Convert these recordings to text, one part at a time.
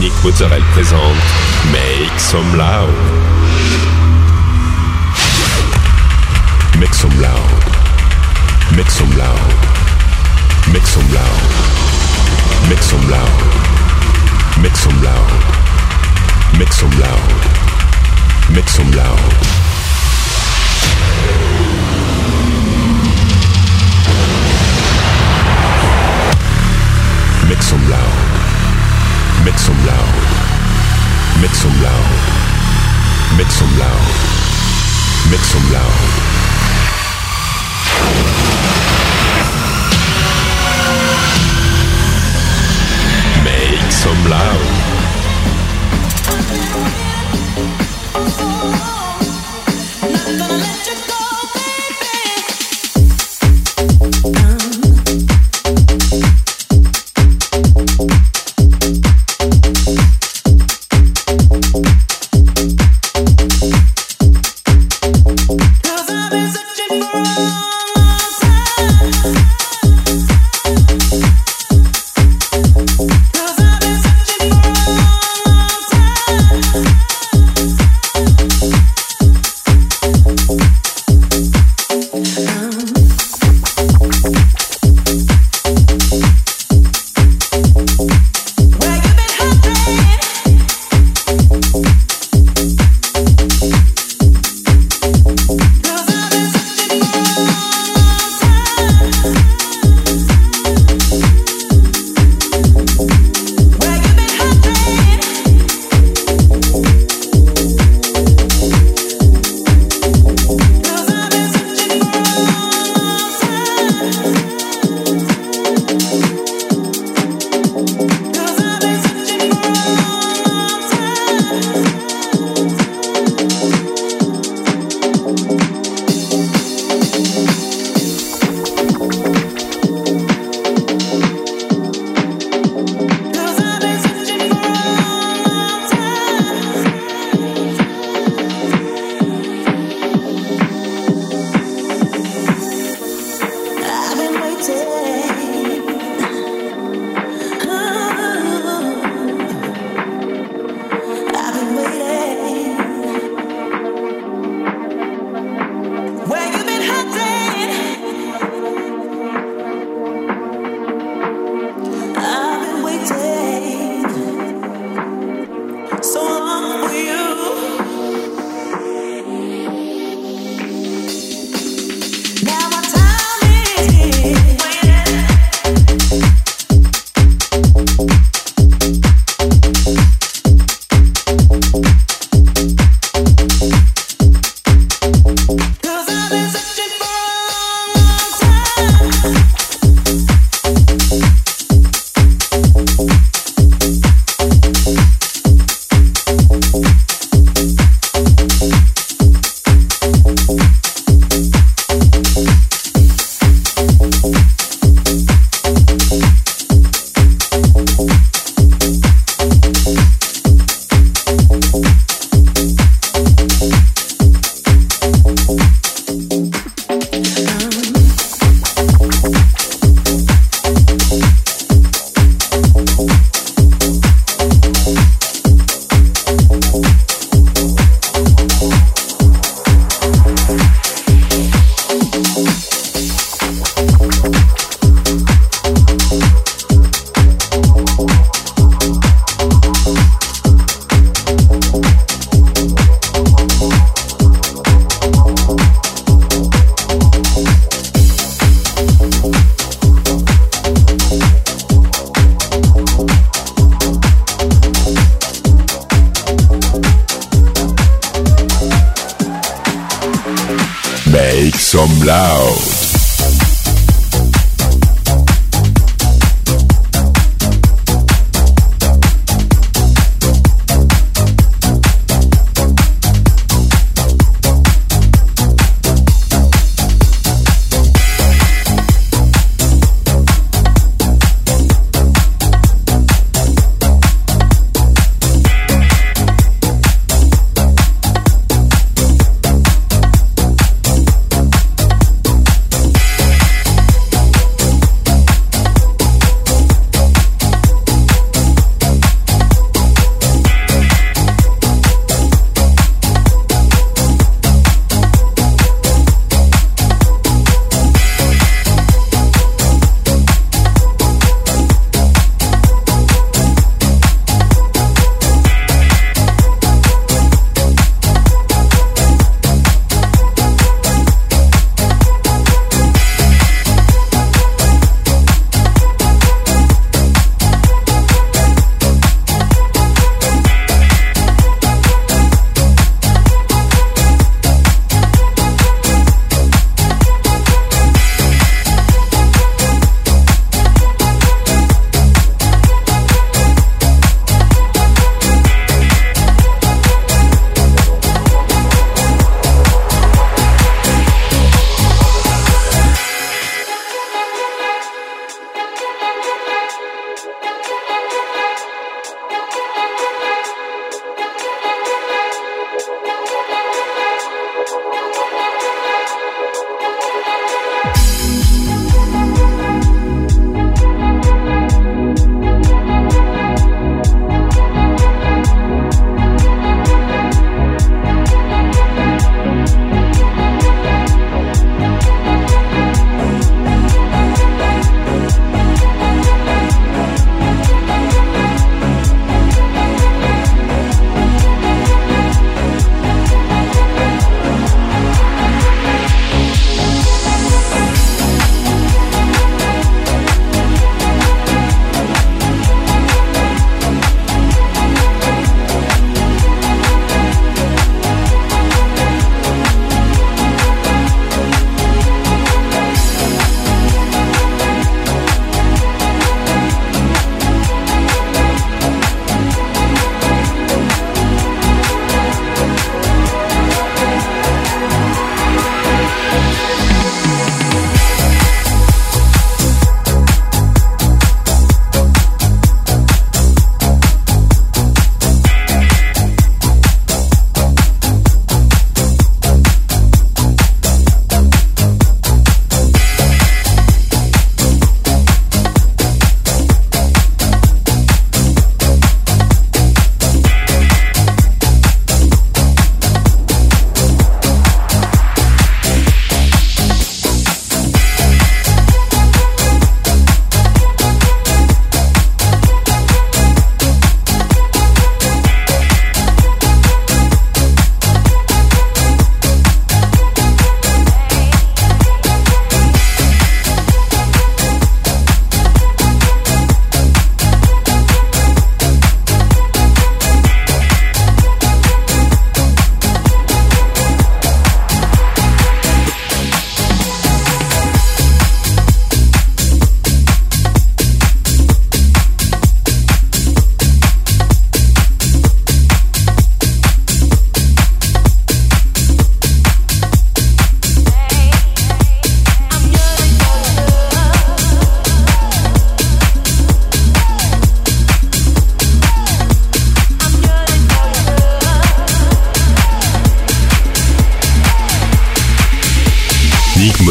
Dominique Mozzarella présente Make Some Loud. Make some loud. Make some loud. Make some loud. Make some loud. Make some loud. Make some loud. Make some loud. Make some loud. Make some loud. Make some loud. Make some loud. Make some loud. Make some loud. Make some loud.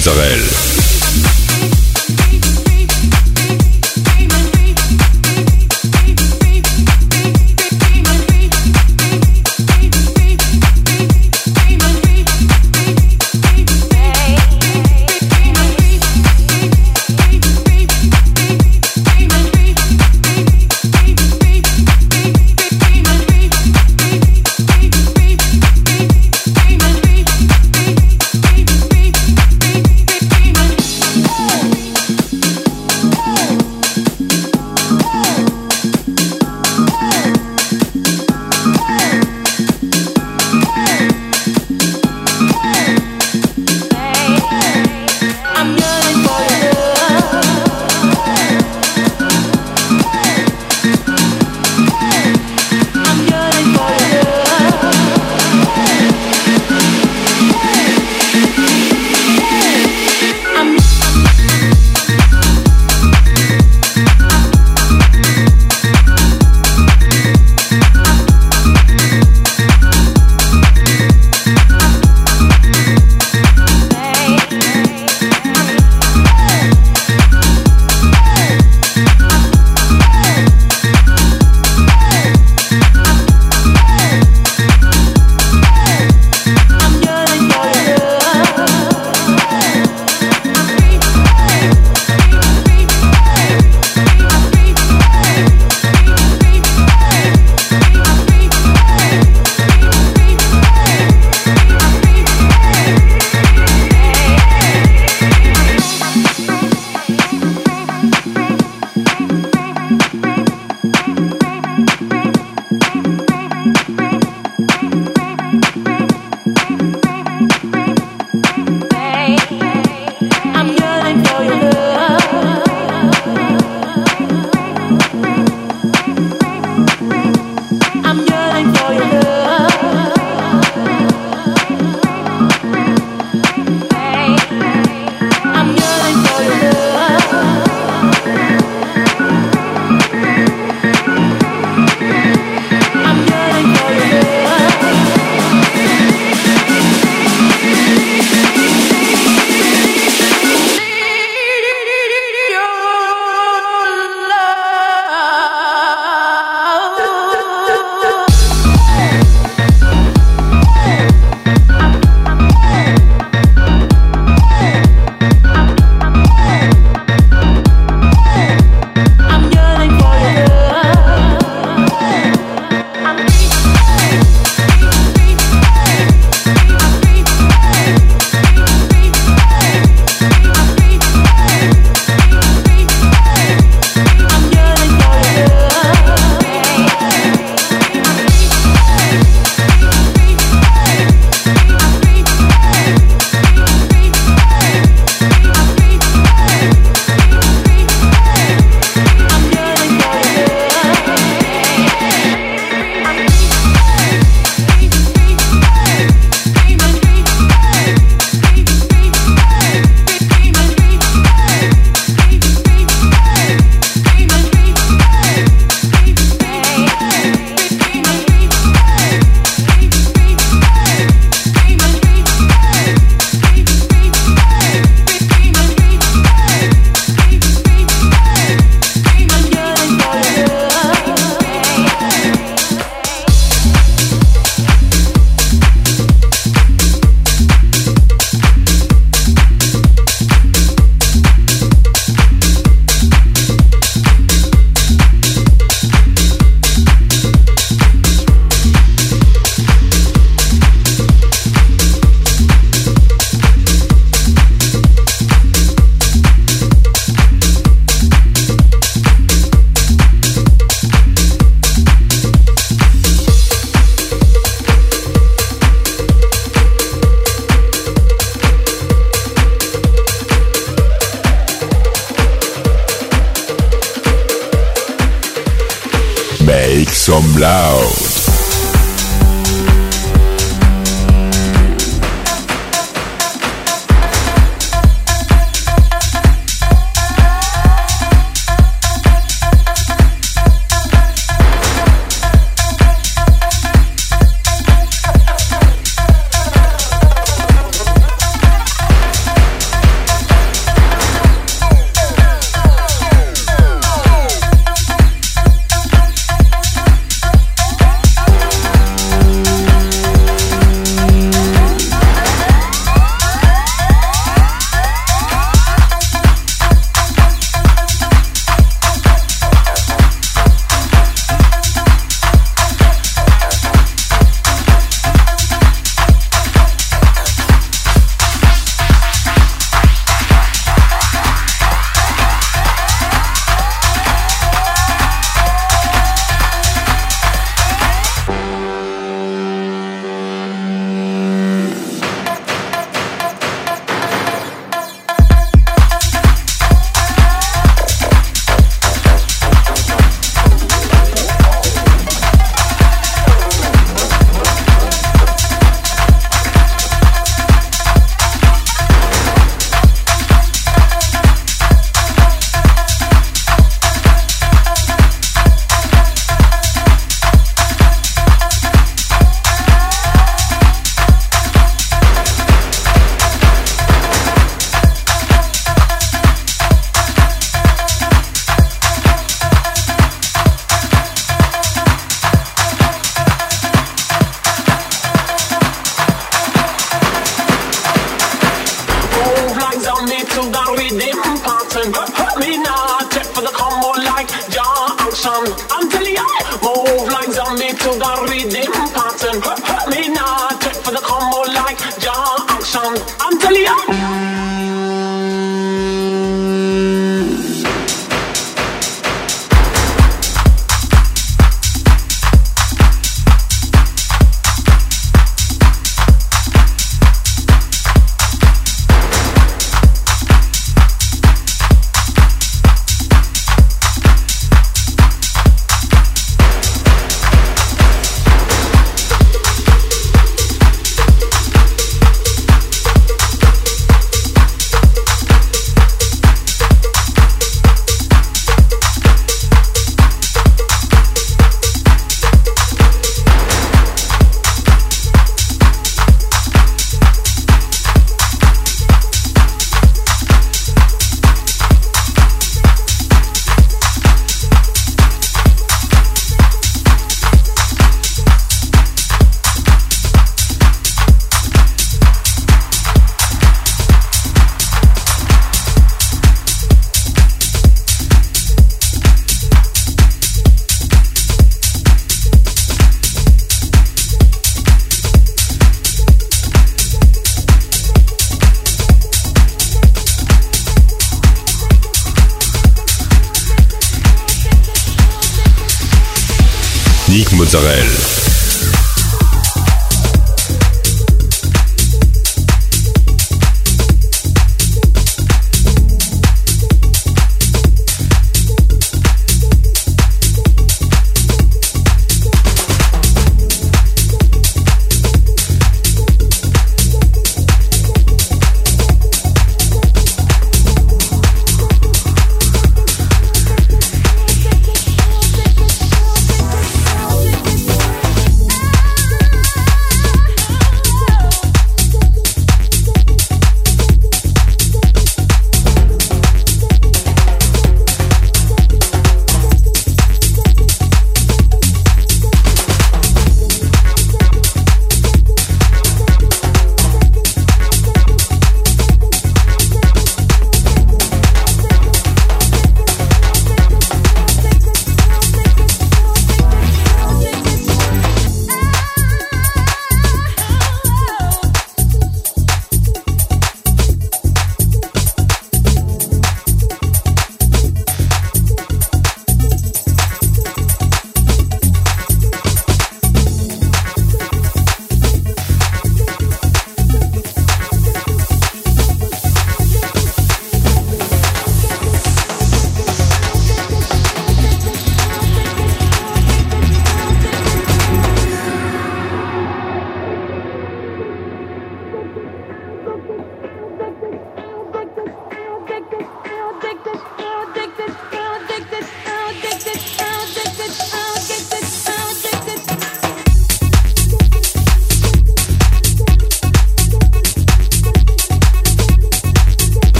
Mozzarella. Make some loud. pattern. Hurt me now, check for the combo like Junction. I'm telling you, move like zombie to the rhythm pattern. Hurt me now, check for the combo like Junction. I'm telling you. Nick Mozzarella.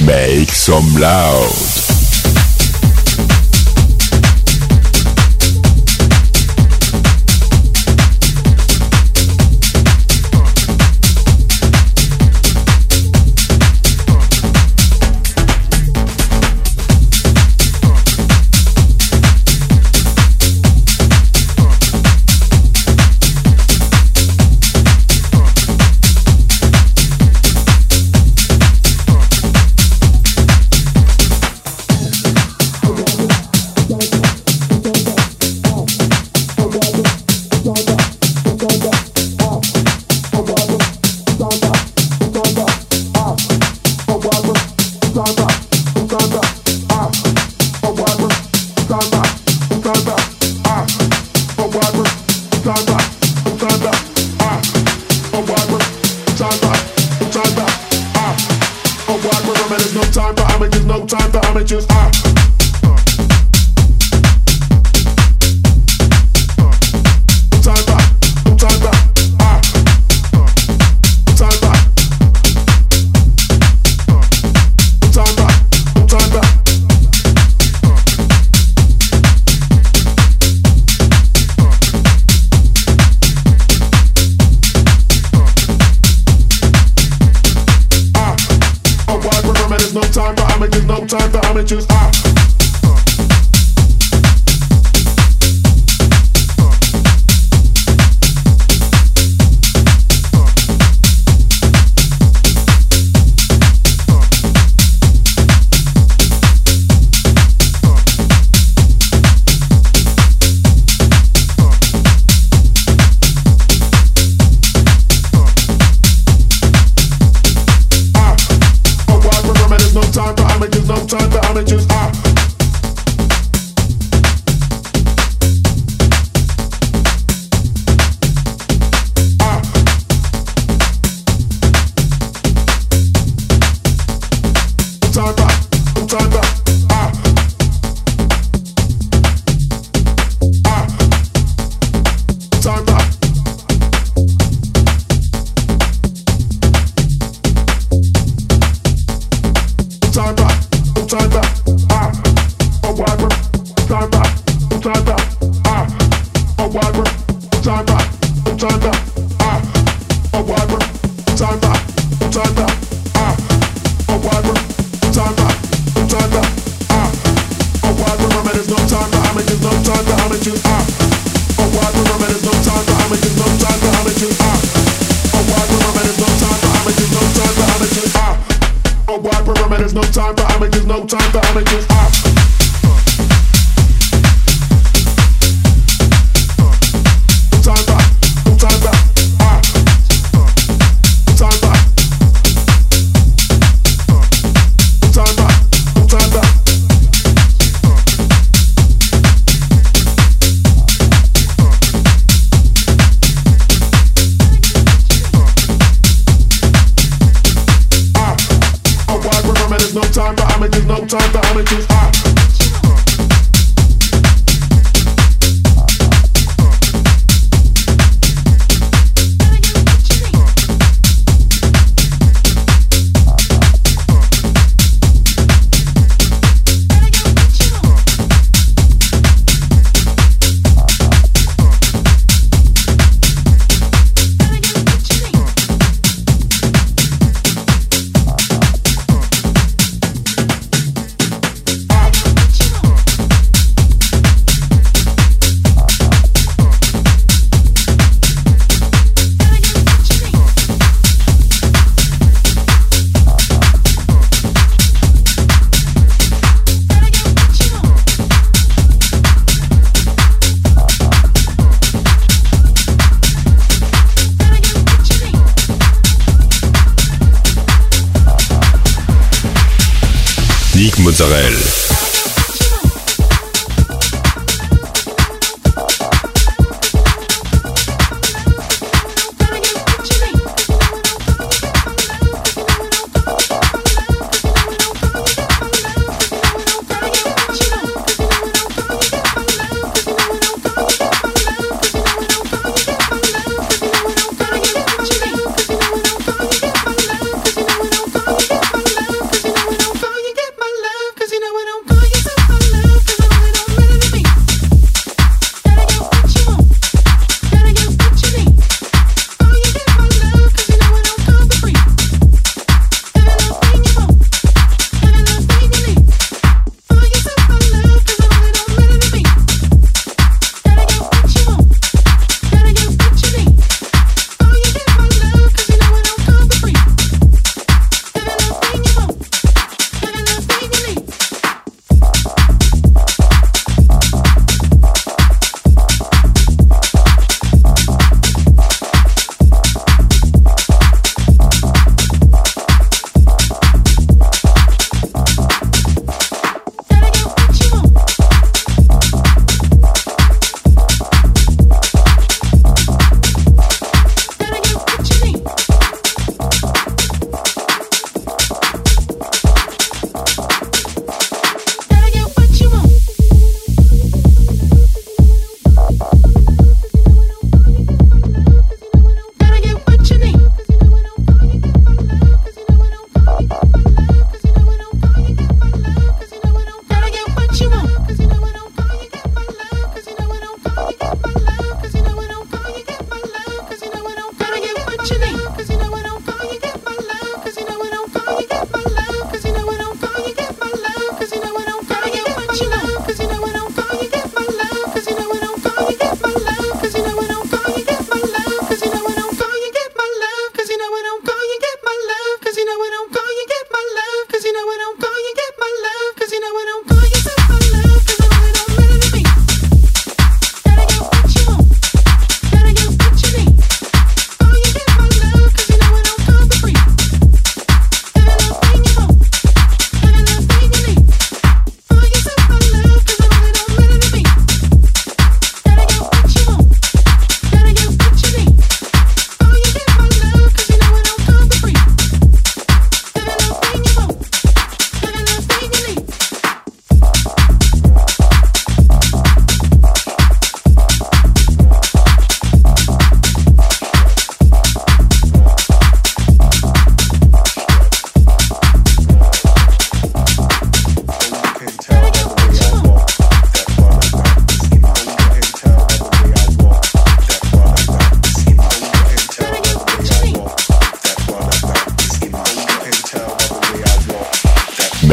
Make some loud. Mozzarella.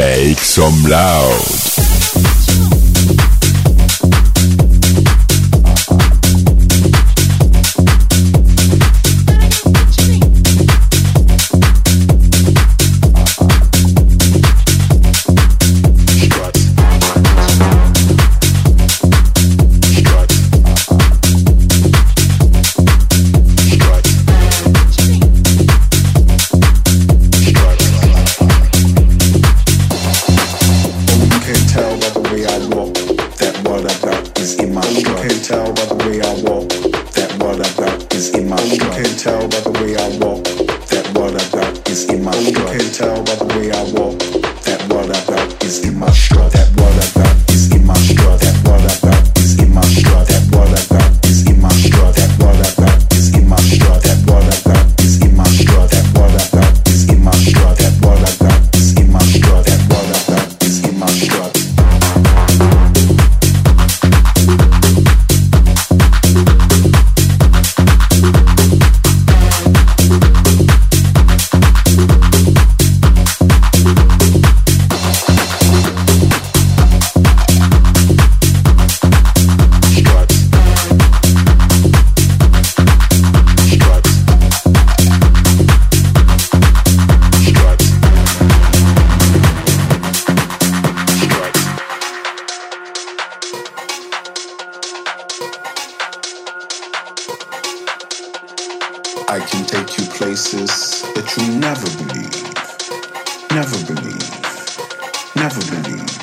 Make some loud. I can take you places that you never believe, never believe, never believe.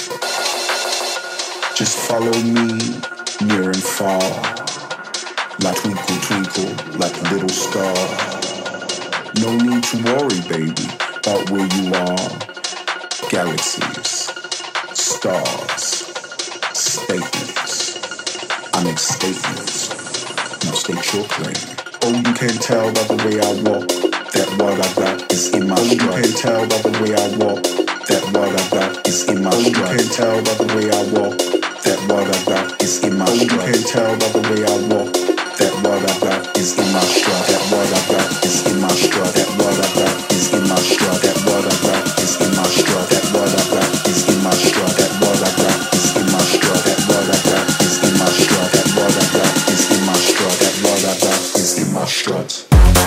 Just follow me near and far, like twinkle, twinkle, like a little star. No need to worry, baby, about where you are. Galaxies, stars, statements. I make statements. Now state your claim. Oh, you can tell by the way I walk that what I got is in my stride. You can tell by the way I walk that what I got is in my stride. You can tell by the way I walk that what I got is in my stride. You can tell by the way I walk that what I got is in my stride. That what I got is in my stride. That what I got is in my stride. That what I got is in my stride. That what I got is in my stride. That what I got is in my stride. That what I got is in my stride. That what I got is in my stride. That what I got is in my stride.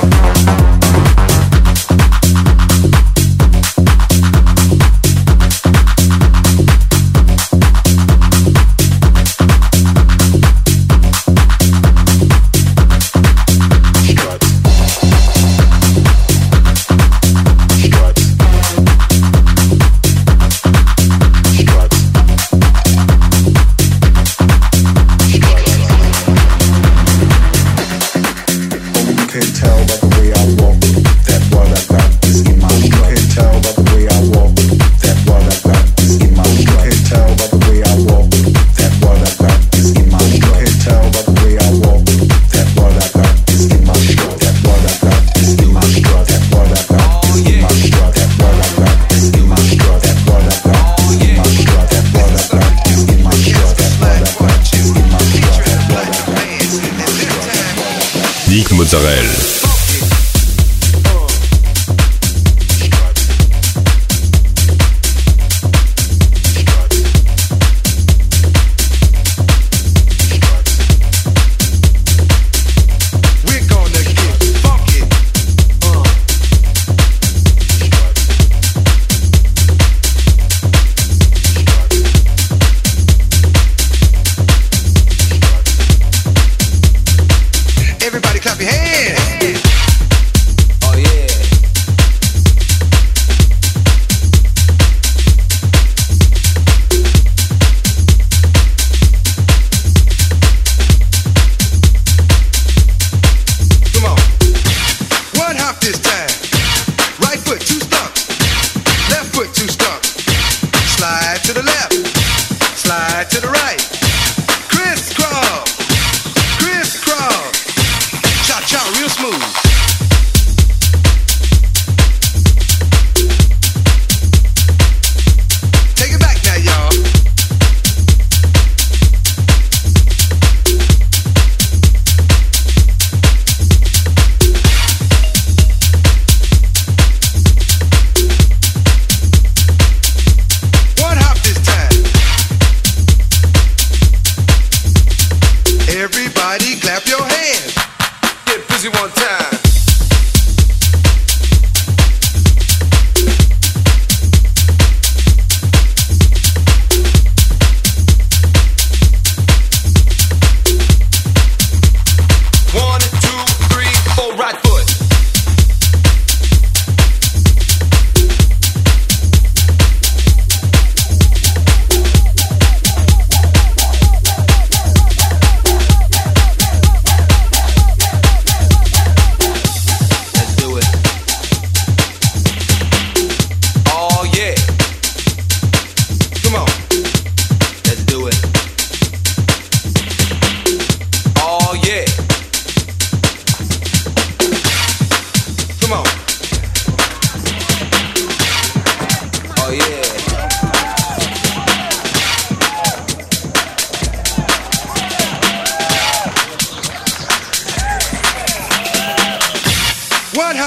Mozzarella. Everybody clap your hands.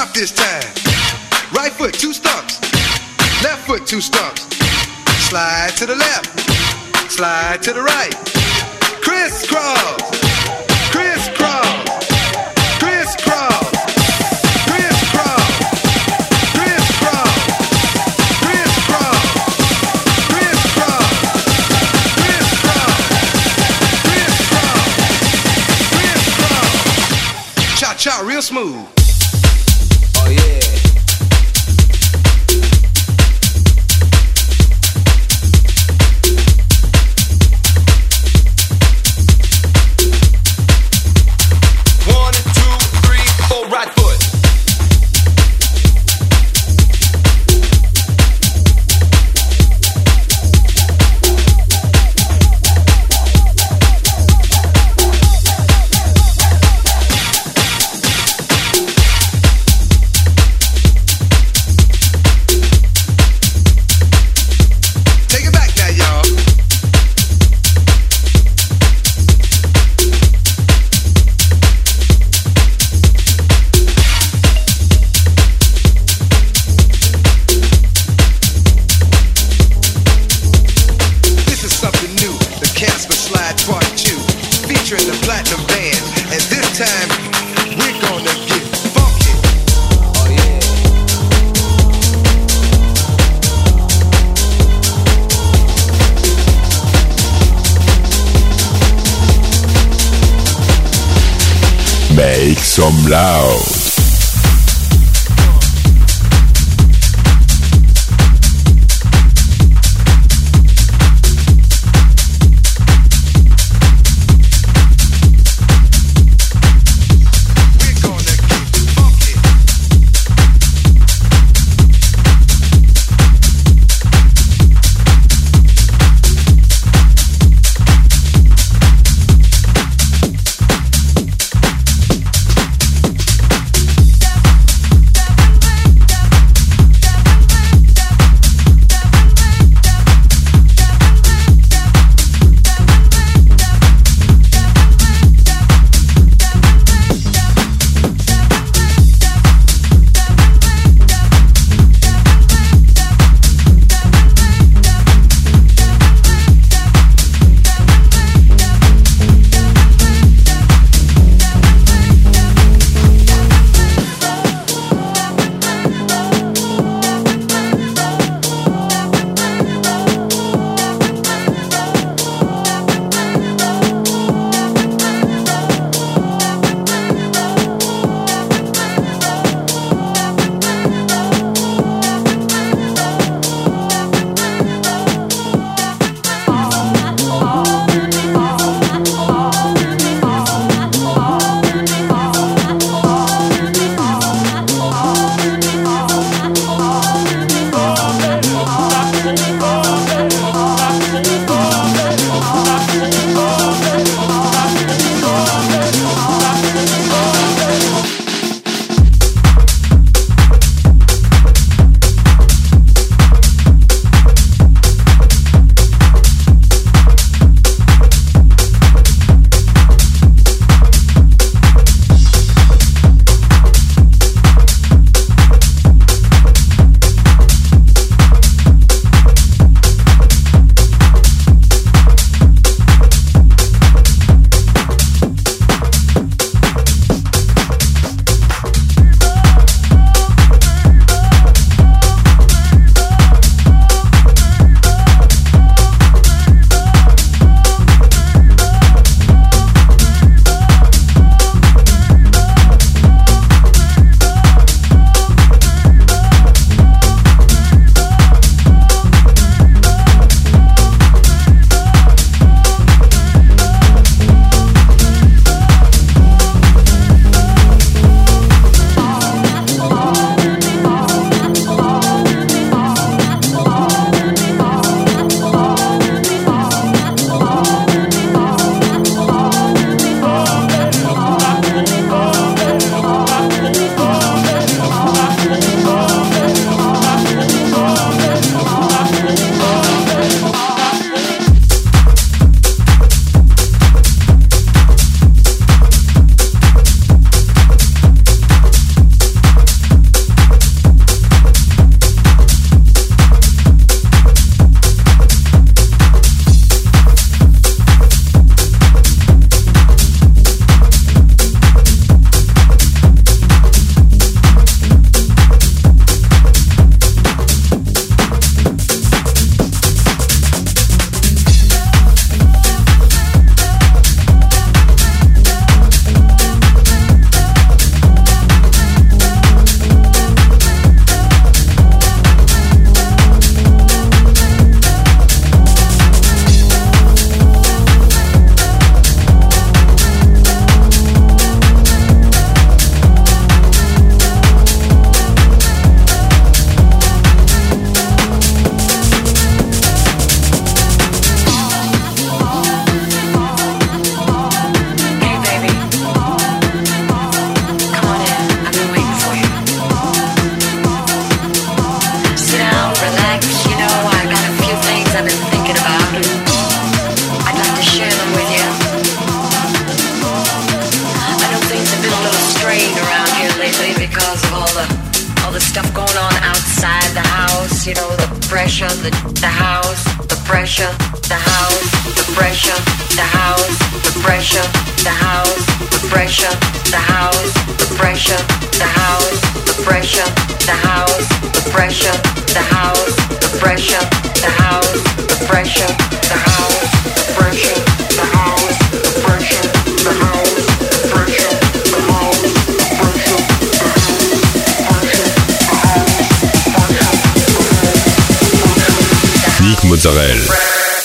Drop this time. Right foot, 2 stumps. Left foot, 2 stumps. Slide to the left. Slide to the right. Crisscross. Crisscross. Crisscross. Crisscross. Crisscross. Crisscross. Crisscross. Crisscross. Crisscross. Cha-cha, real smooth. Oh yeah. Make some loud. stuff going on outside the house, you know, the pressure, the house, the pressure, the house, the pressure, the house, the pressure, the house, the pressure, the house, the pressure, the house, the pressure, the house, the pressure, the house, the pressure, the house, the pressure, the house, the pressure, the house, the pressure, the house, the pressure, the house, the pressure, Nick Mozzarella.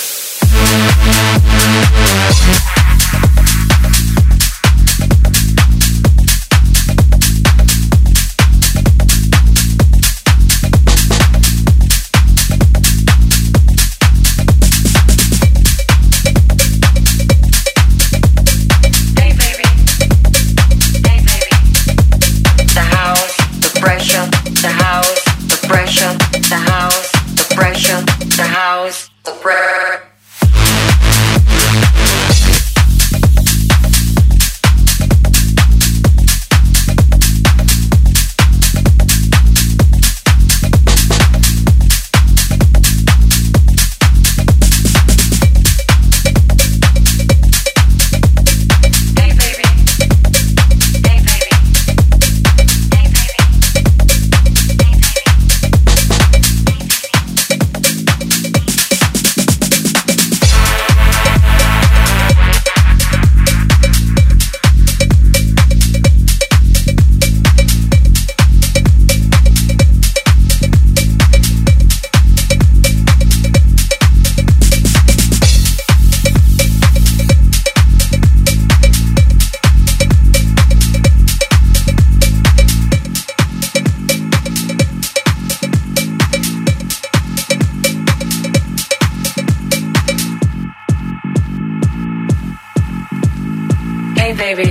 Baby,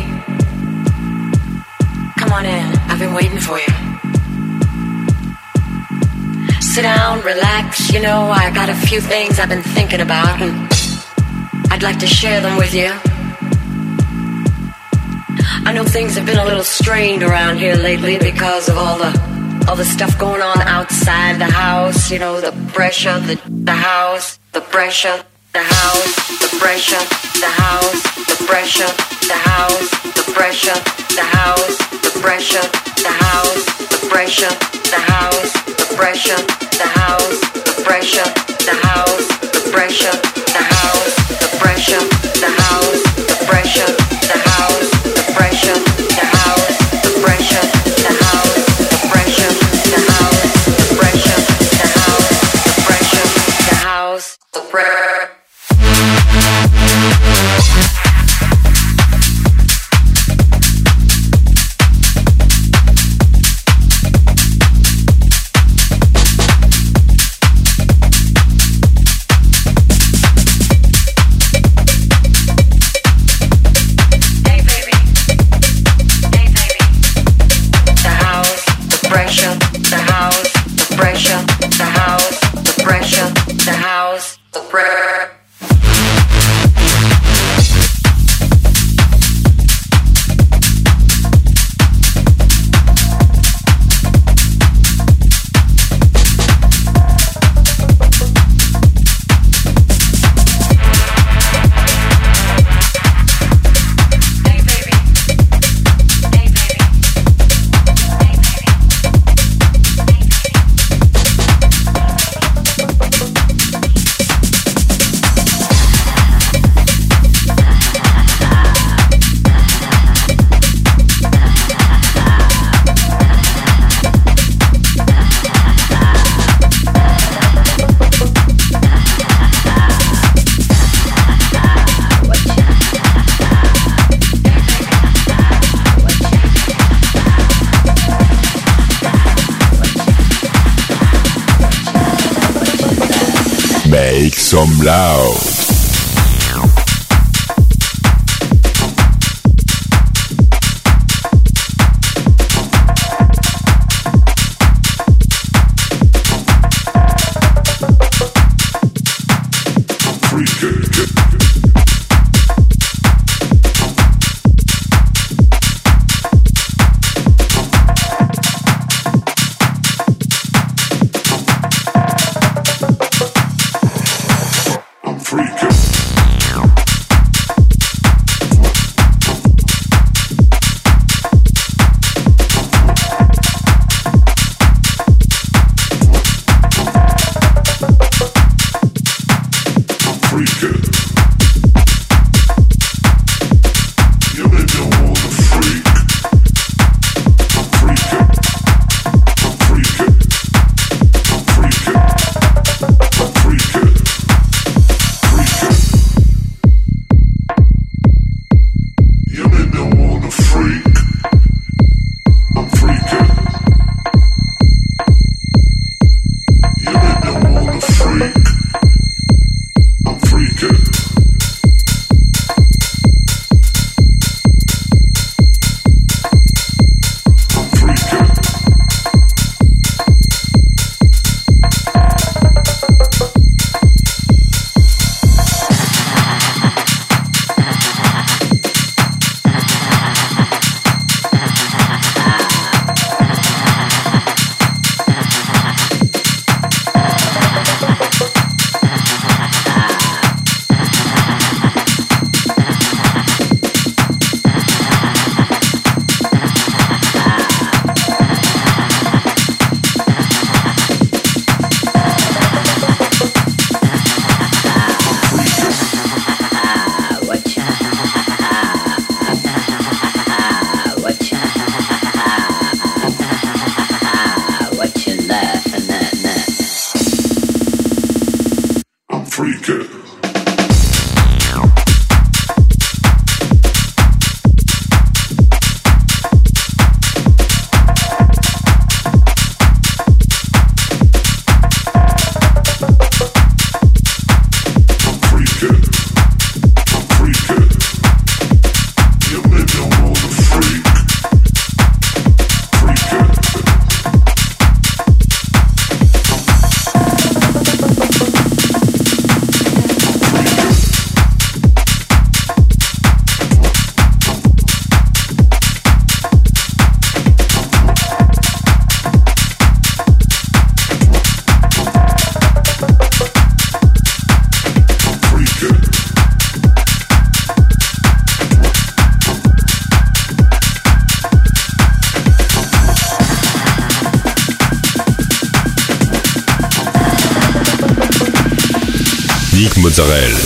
come on in. I've been waiting for you. Sit down, relax. You know, I got a few things I've been thinking about, and I'd like to share them with you. I know things have been a little strained around here lately because of all the stuff going on outside the house. You know, the pressure, the house, the pressure, the house, the pressure, the house, the pressure, the house, the pressure, the house, the pressure, the house, the pressure, the house, the pressure, the house, the pressure, the house, the pressure, the house, the pressure, the house, the pressure, the house, the pressure, the house, the pressure, the house, the pressure, the house, the pressure, the house, the pressure, the house, the pressure. Make some loud. Nick Mozzarella.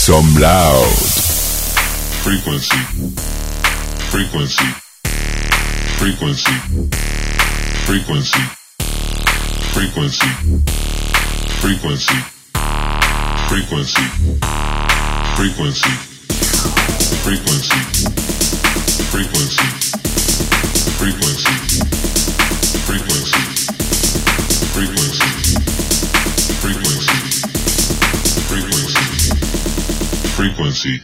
some loud. Frequency. Frequency. Frequency. Frequency. Frequency. Frequency. Frequency. Frequency. Frequency. Frequency. Frequency. Frequency. Frequency. Frequency. Frequency. Frequency.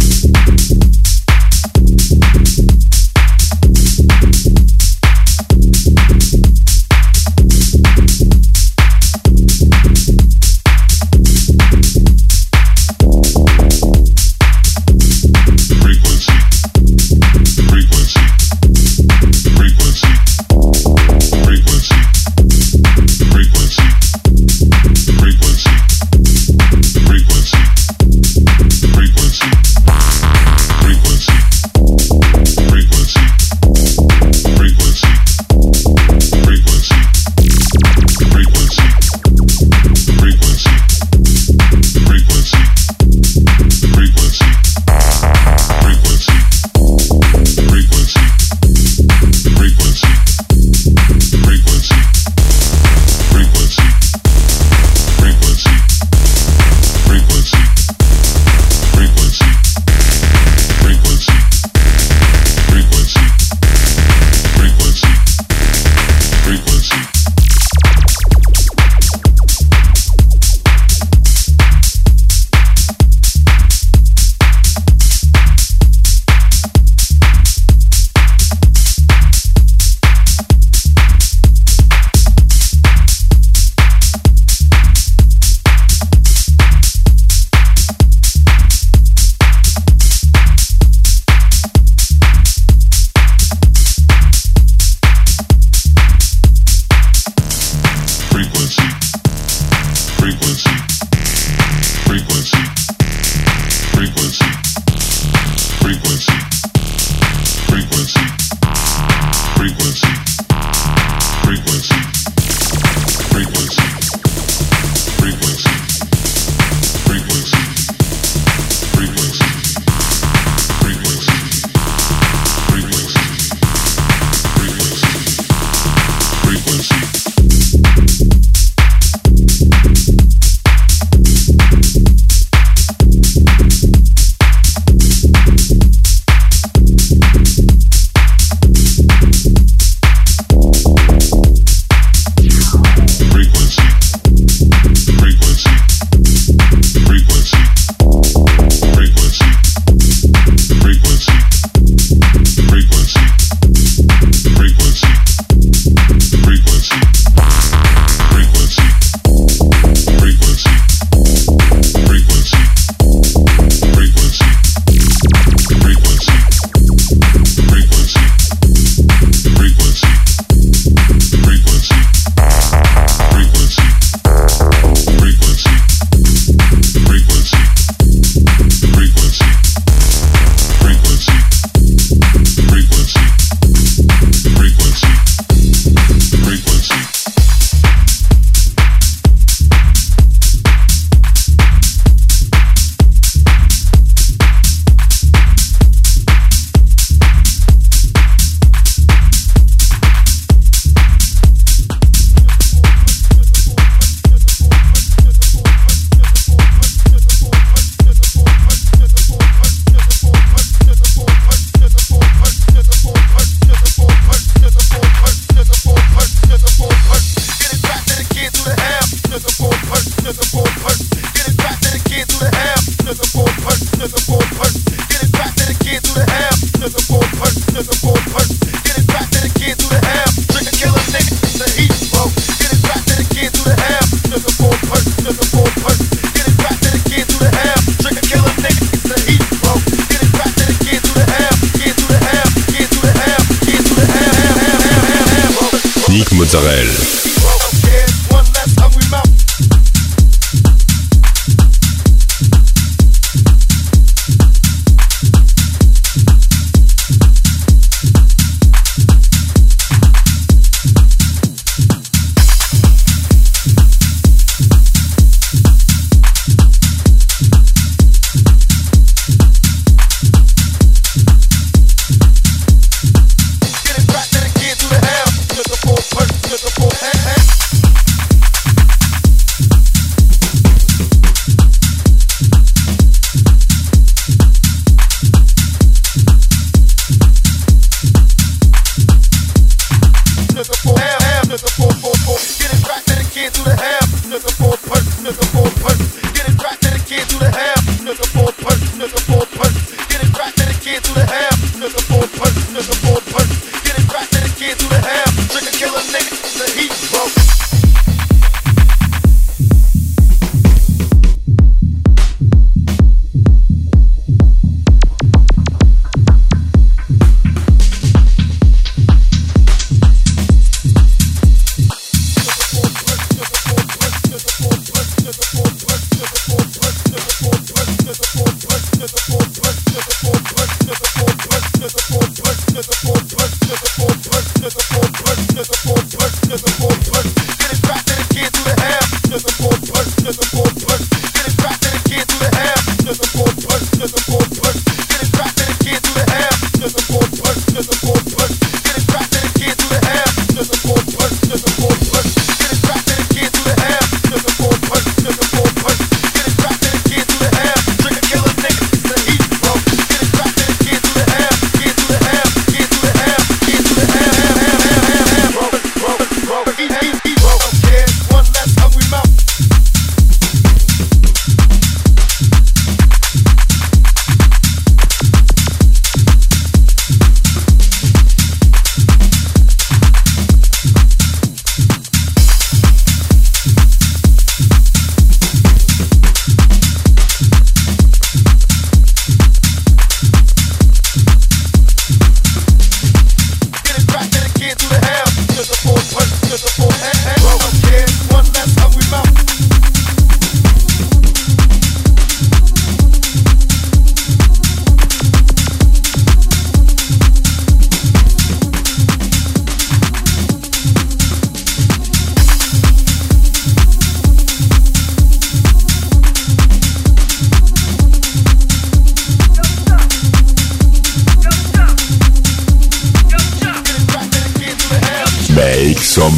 Mozzarella.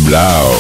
some loud.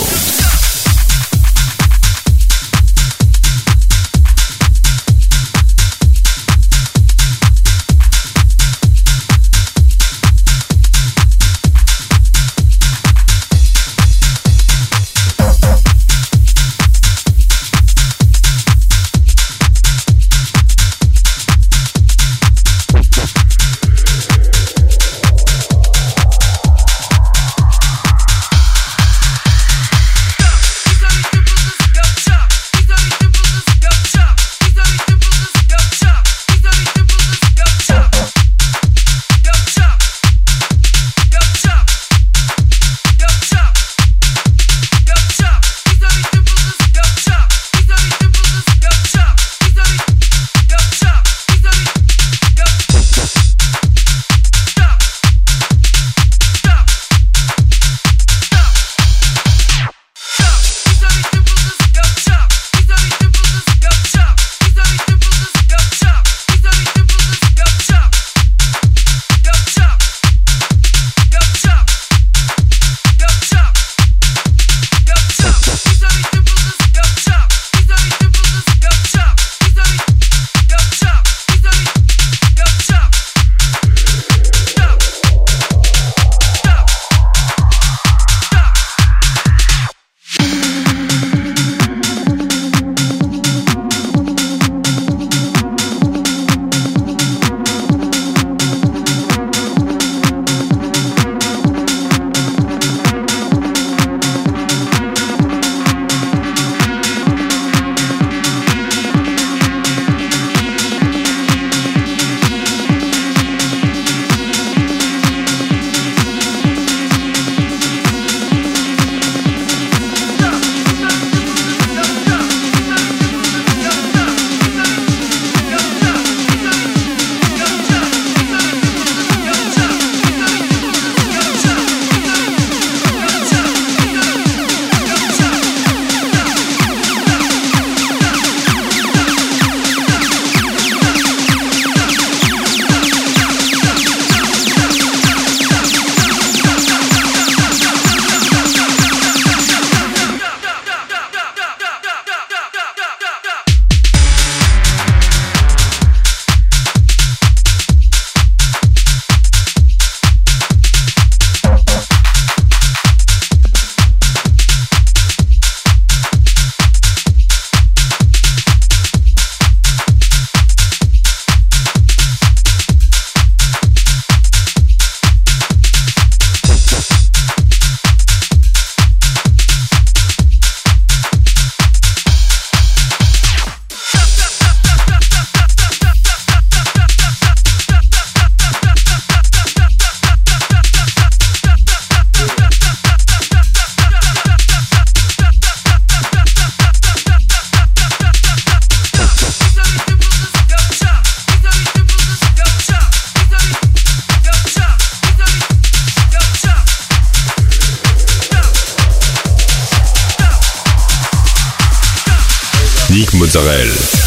Mozzarella.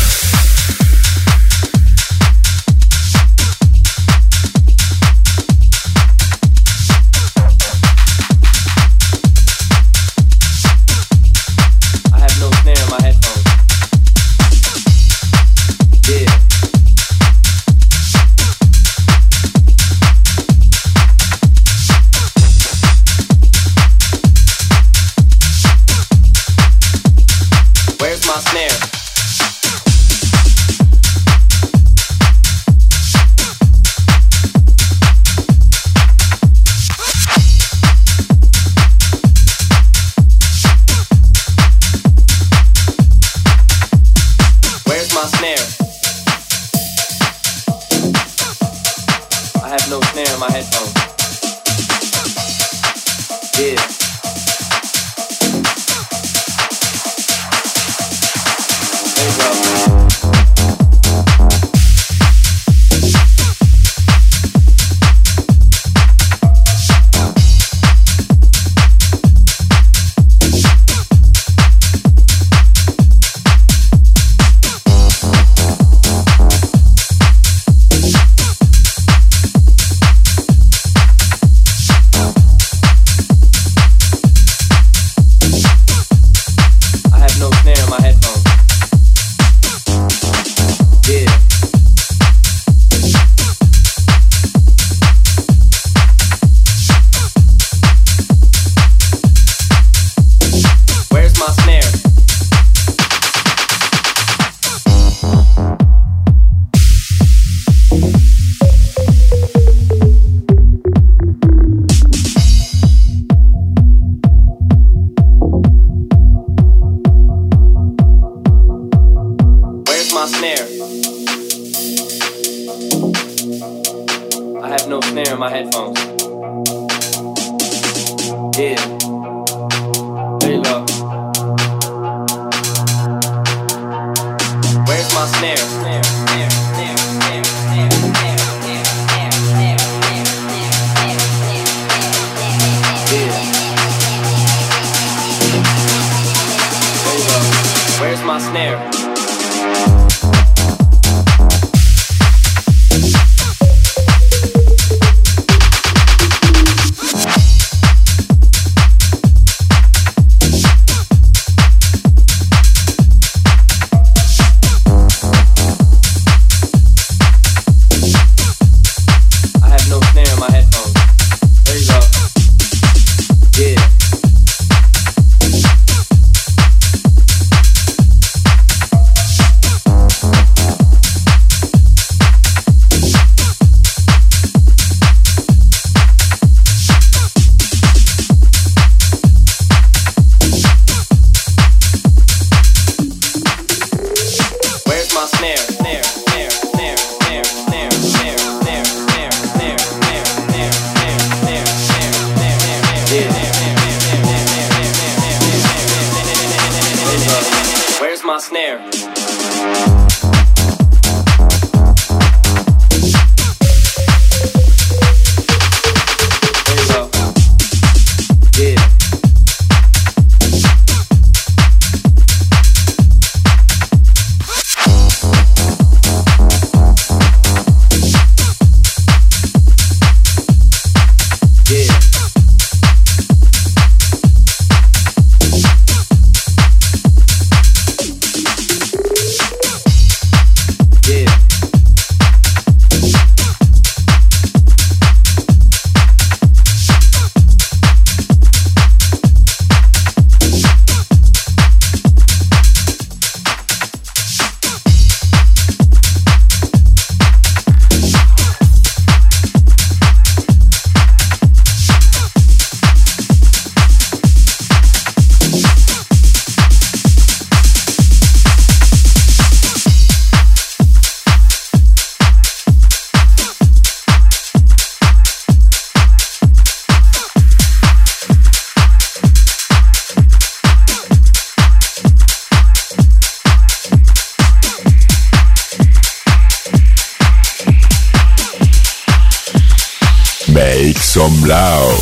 snare? I have no snare in my headphones. Yeah. There you go. Where's my snare? Where's my snare? Where's my snare? Make some loud.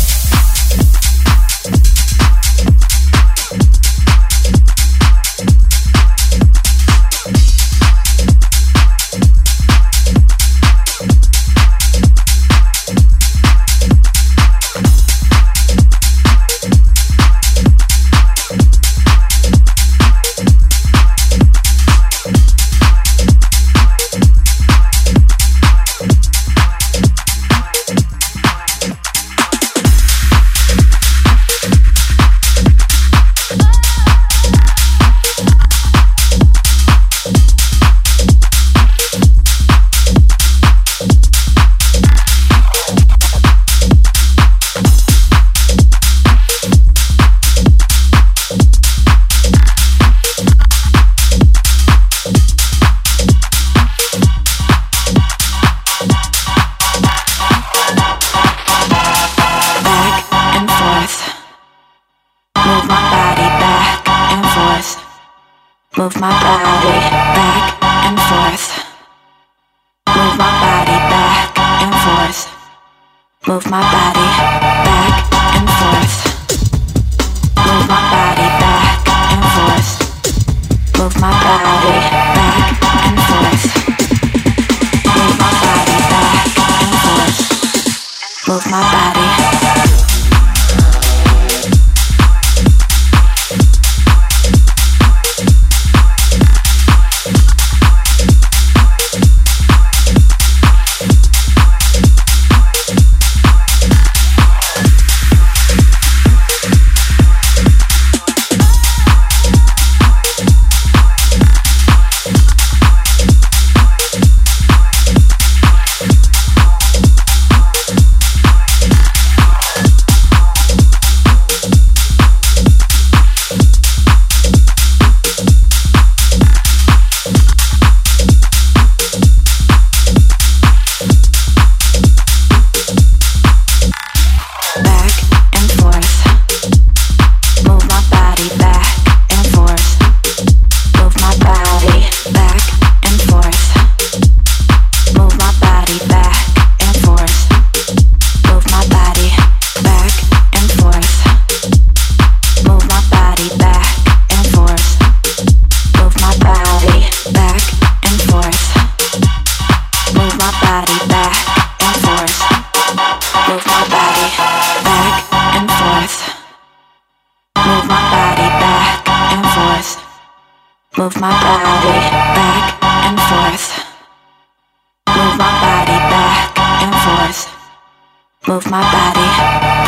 Move my body back and forth. Move my body back and forth. Move my body back and forth. Move my body back and forth. Move my body back and forth. Move my body back and forth. Move my body. Move my body back and forth. Move my body back and forth. Move my body.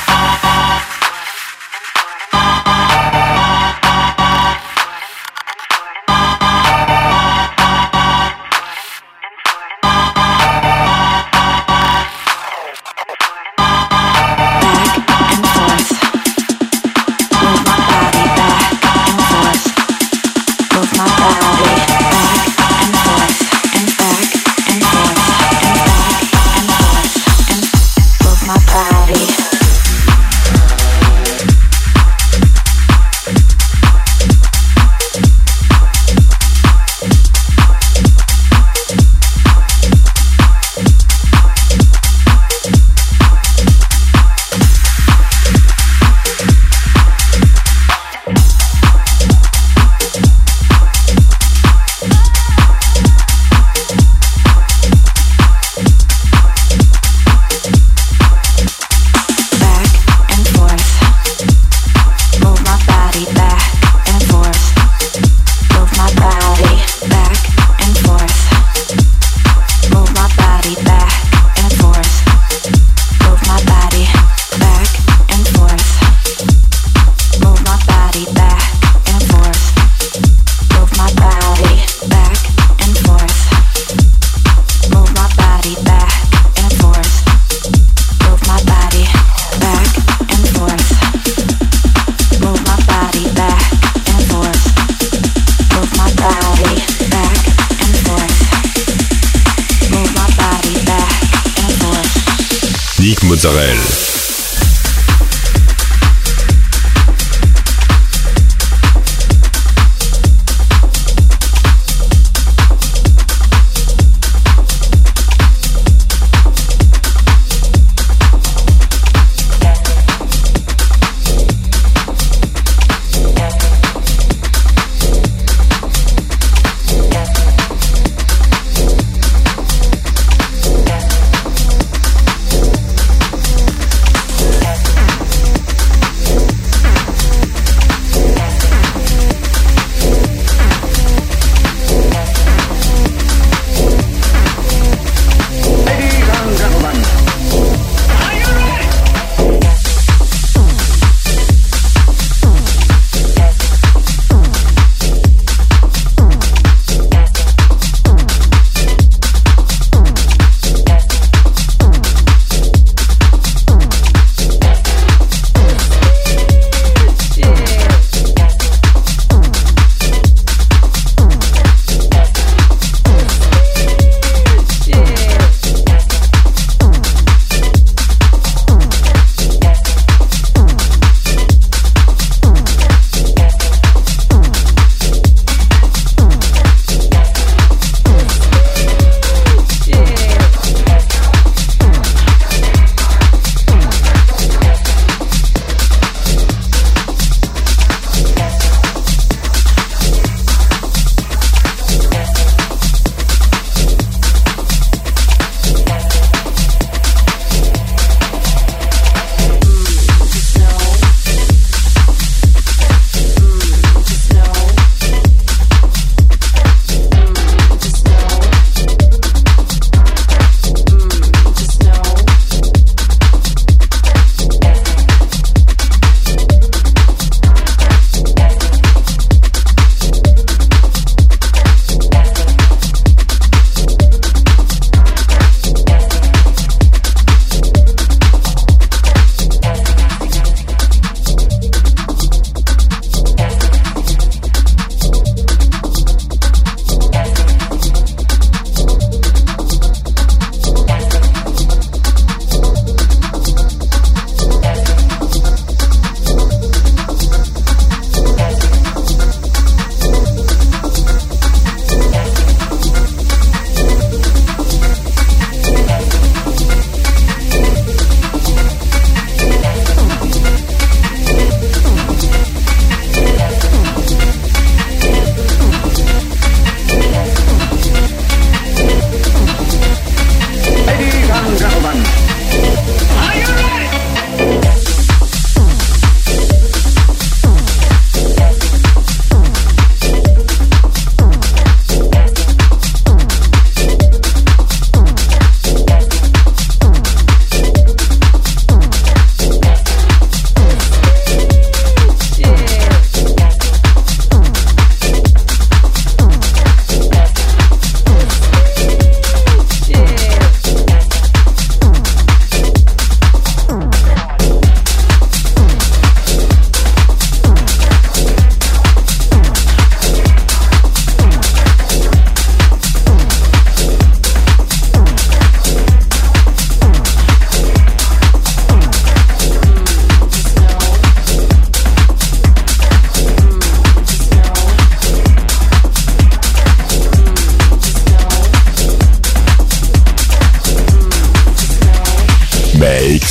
Mozzarella.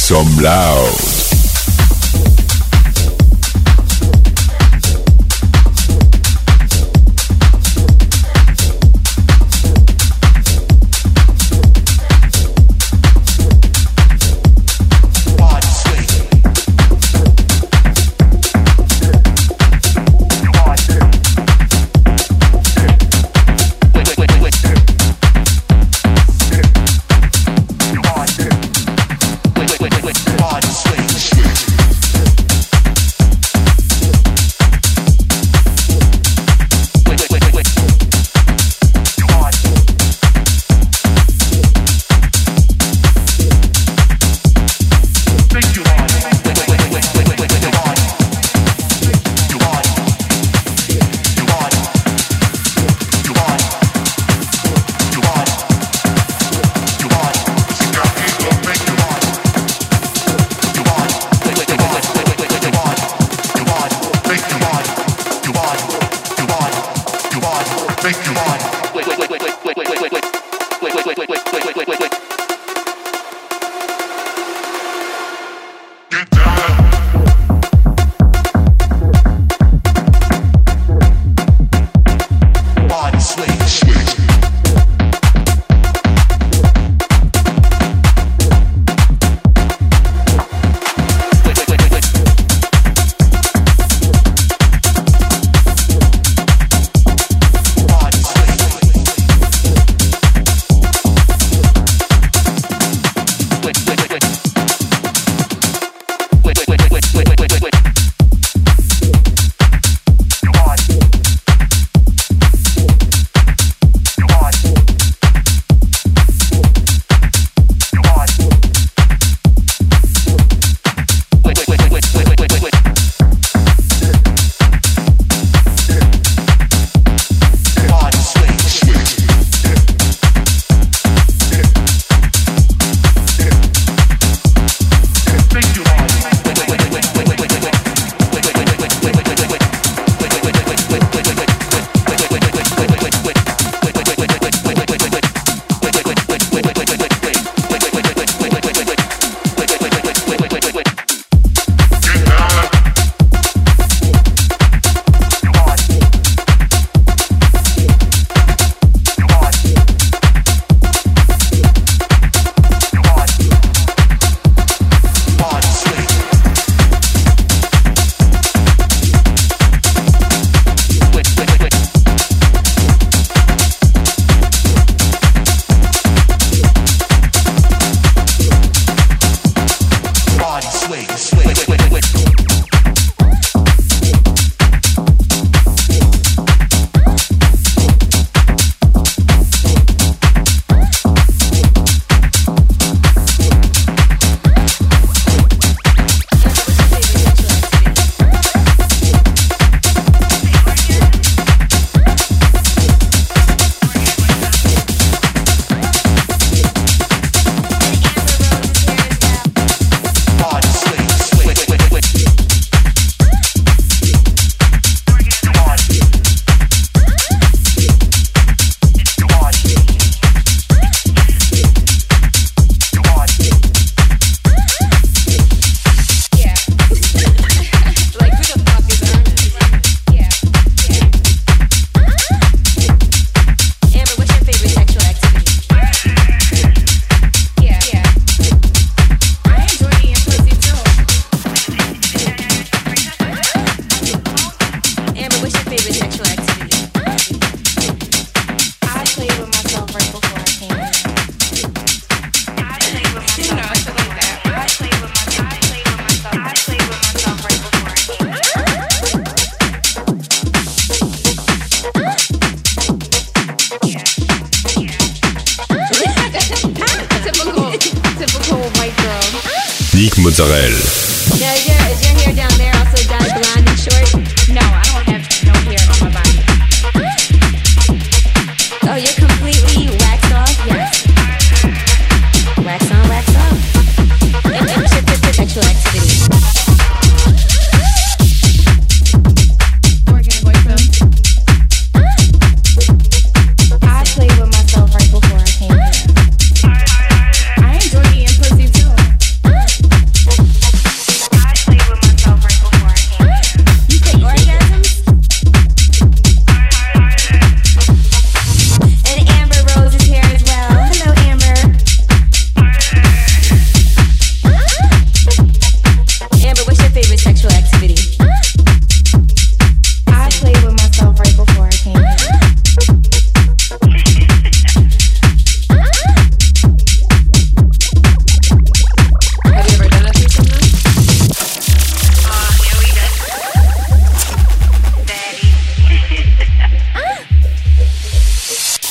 some loud. Nick Mozzarella. Is your hair down there also dyed blonde and short? No, I don't have no hair on my body. Oh, you're completely waxed off? Yes. Wax on, wax off. And what's your sexual activity? Organ boyfriend. I played with myself right before I came here. I enjoy eating pussy too.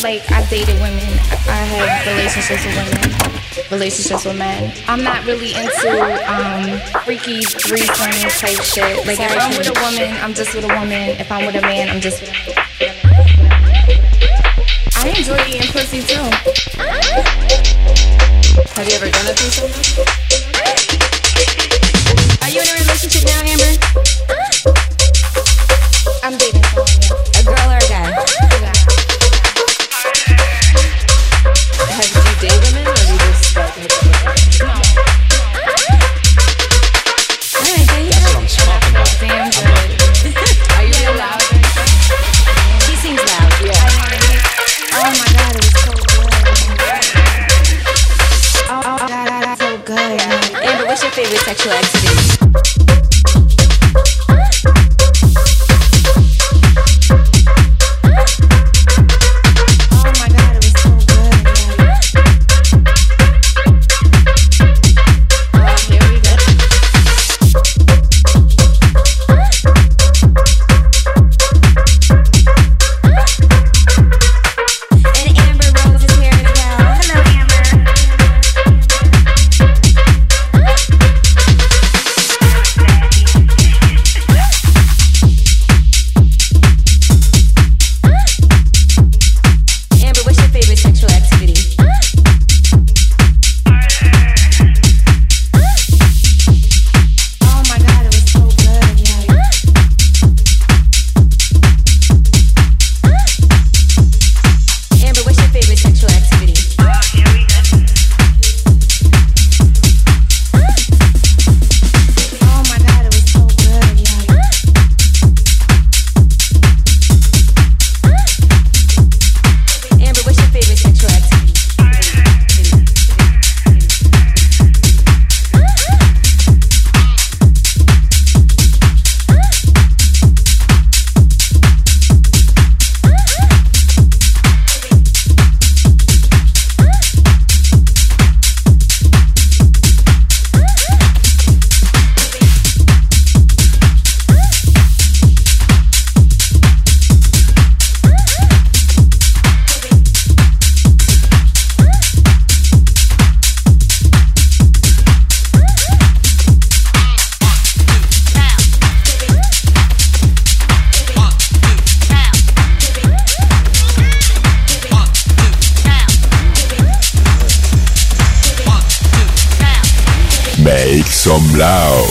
Like, I've dated women. I have relationships with women, relationships with men. I'm not really into freaky threesome type shit. Like, if I'm with a woman, I'm just with a woman. If I'm with a man, I'm just with a man. I enjoy eating pussy too. Have you ever done a threesome? Are you in a relationship now, Amber? I'm dating someone, yeah. A girl or a guy? Yeah. Have you dated women or you just like hit them with them? No. Alright, then That's what I'm talking about. Damn good. Are you real loud? She sings loud, yeah. Oh my god, it was so good. Oh god, that's so good. Amber, what's your favorite sexual activity? Make some loud.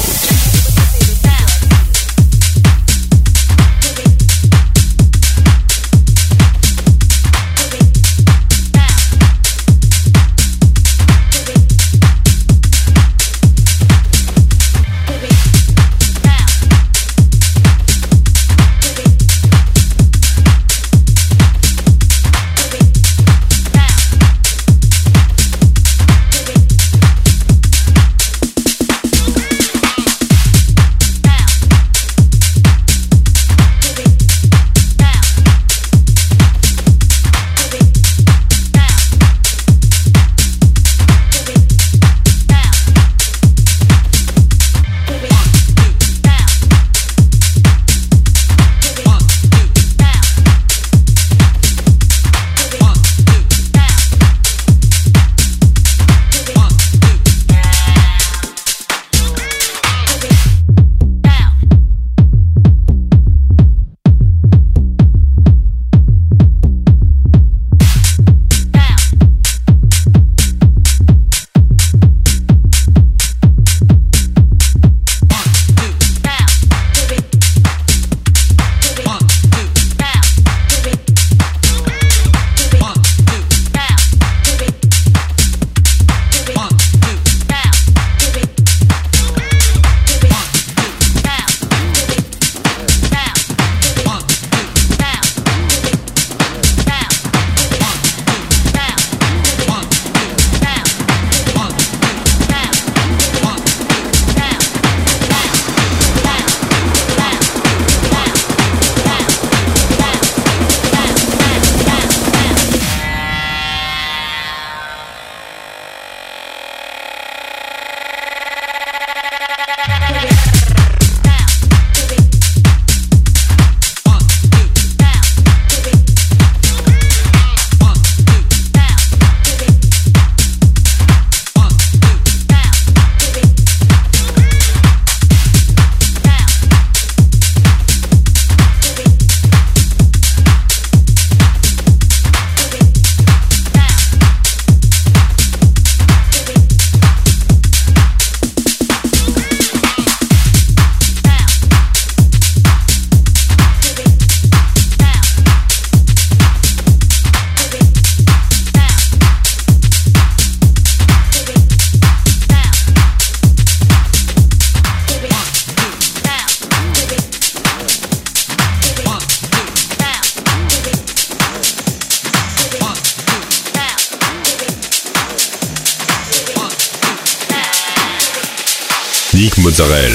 Nick Mozzarella.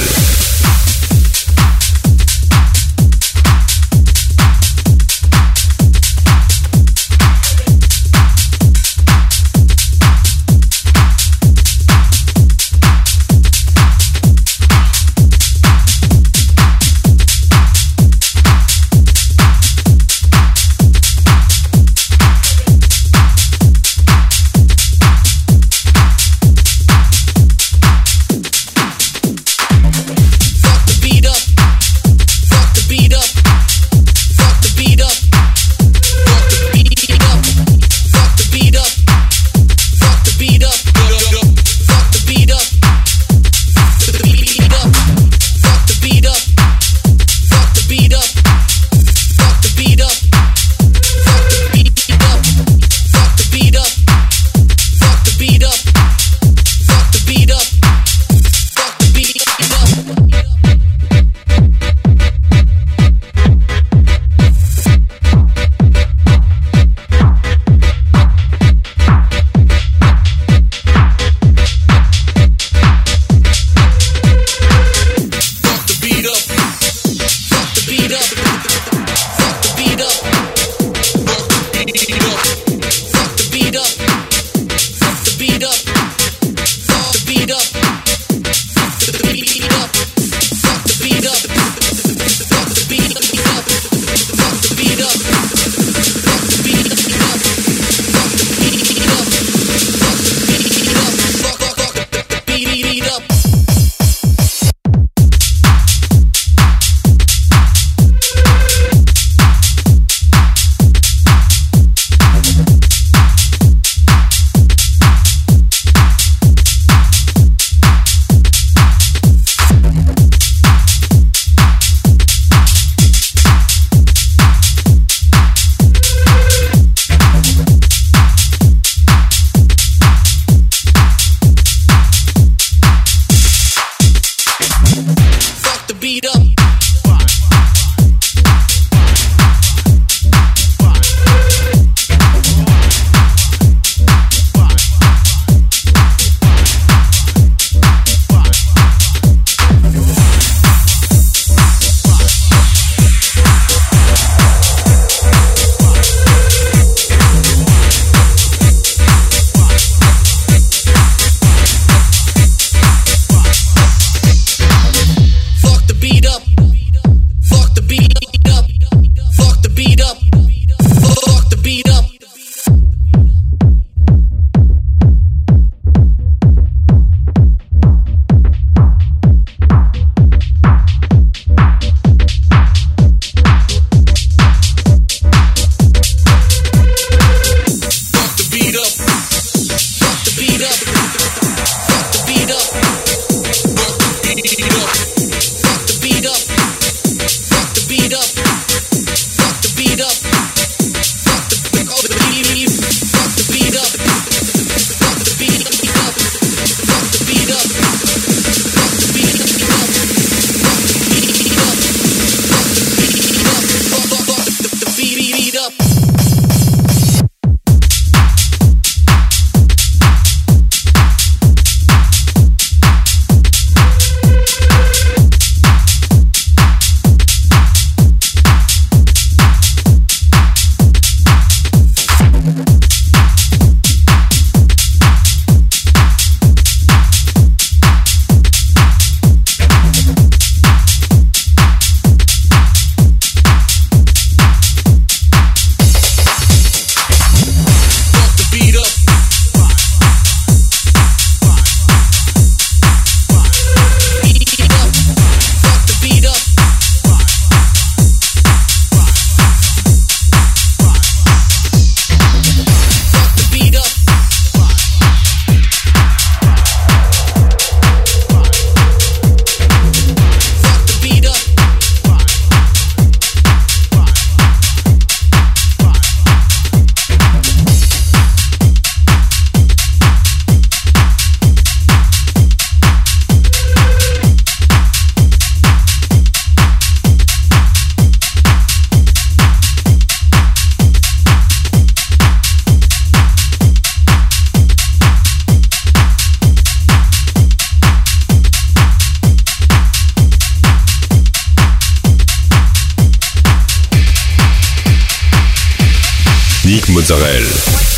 Nick Mozzarella.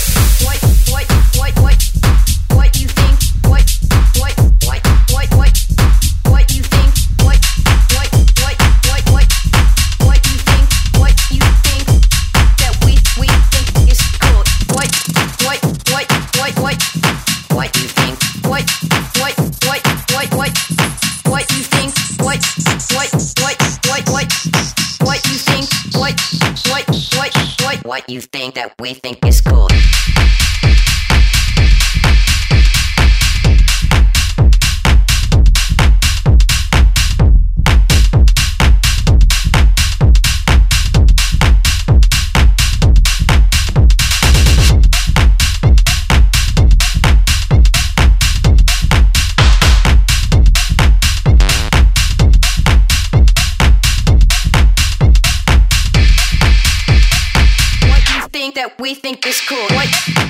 What you think that we think is cool. That we think is cool. What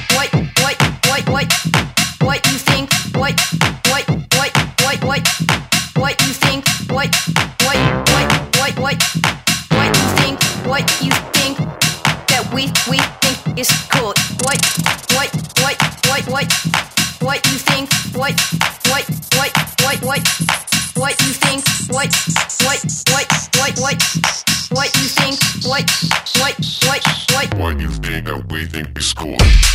you think? What you think? What you think? What you think that we think is cool. What you think? What you think? What you think? What you think that we think is cool.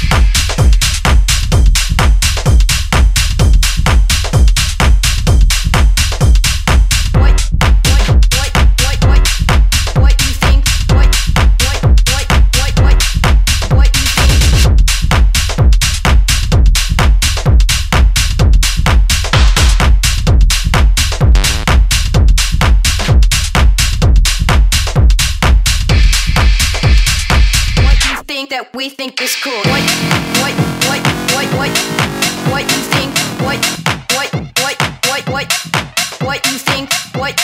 That we think is cool. What you think? What you think? What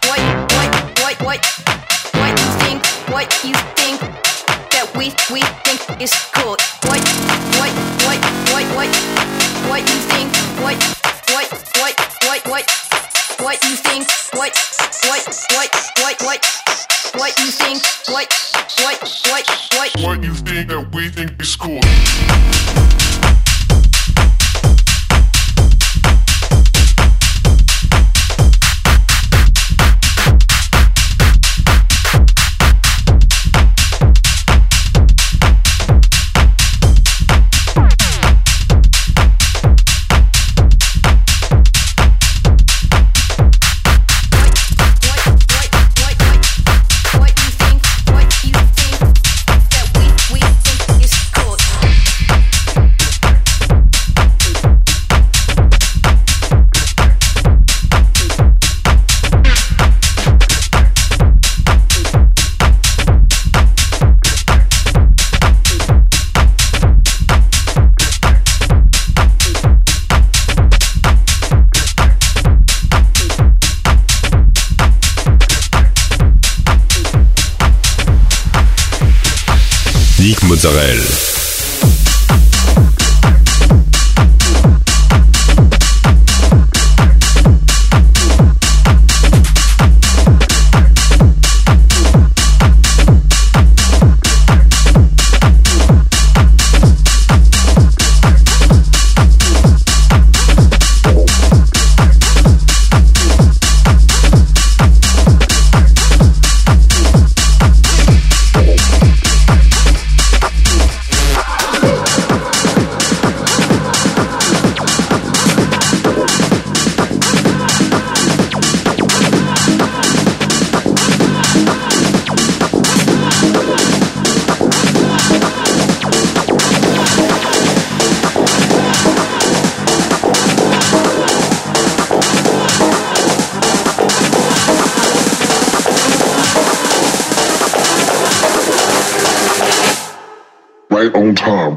you think? What you think that we think is cool. What you think? What you think? What you think? What you think that we think is cool. Nick Mozzarella. Right on time.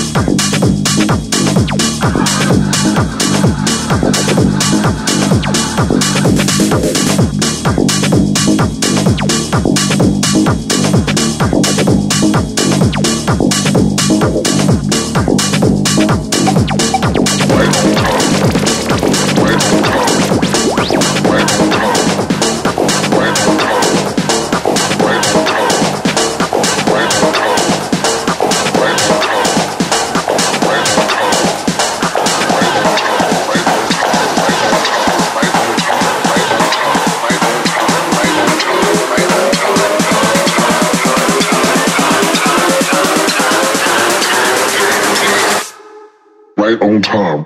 right on time.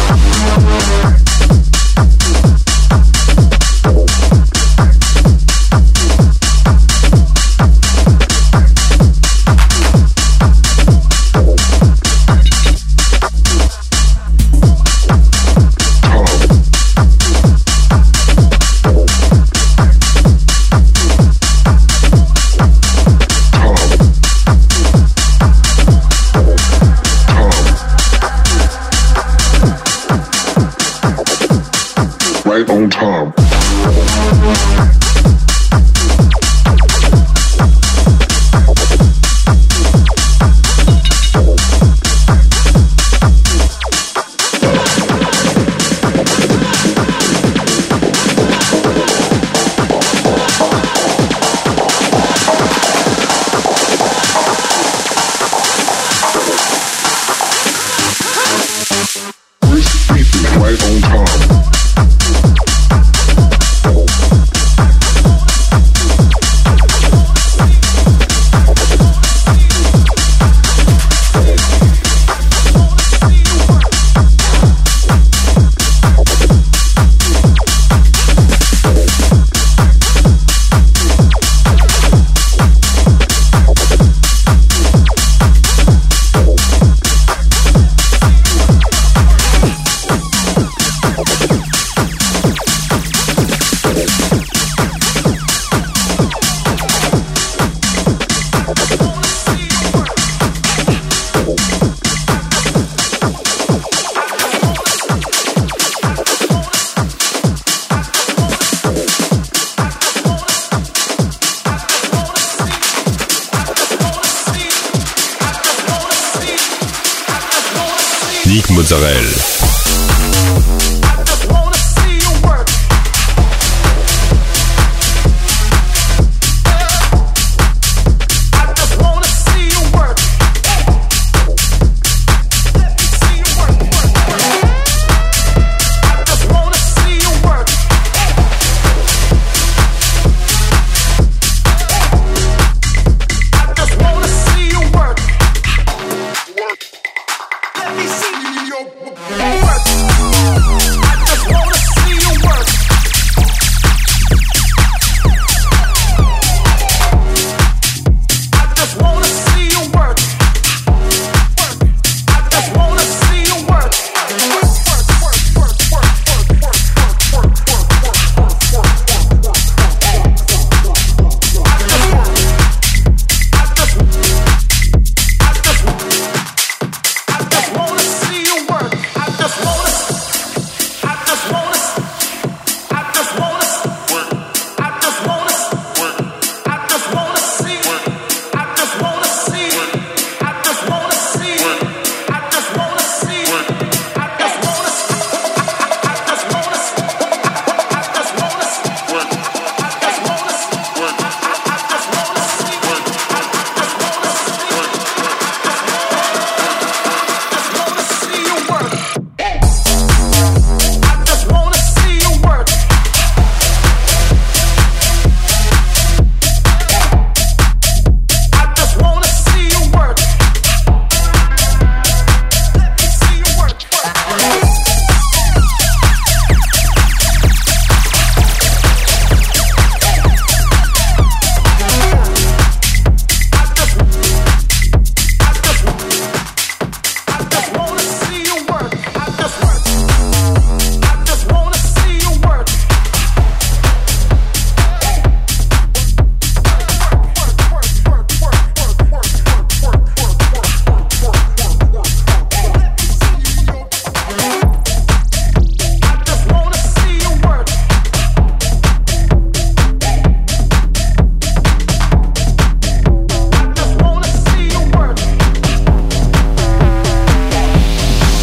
Right on time. Right on time. Nick Mozzarella. Just wanna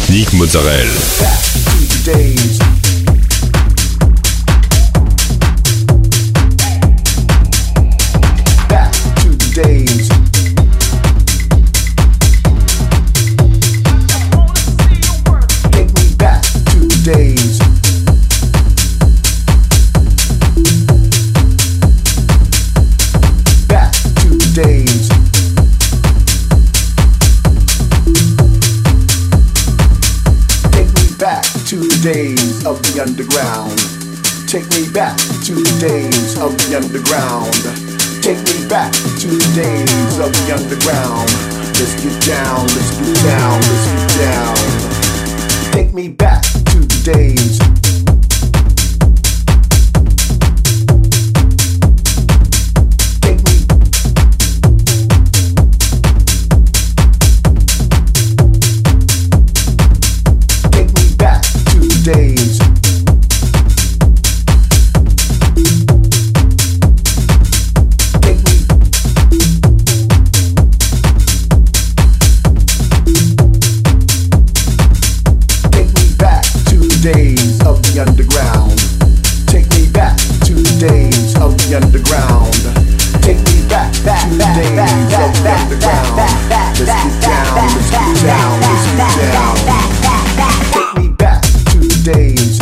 Nick Mozzarella. Days of the underground. Take me back to the days of the underground. Take me back to the days of the underground. Let's get down, let's get down, let's get down. Take me back to the days. Days. Take me. Take me back to the days of the underground. Take me back to the days of the underground. Take me back to the days of the underground. Let's get down, let's get down, let's get down. Take me back to the days.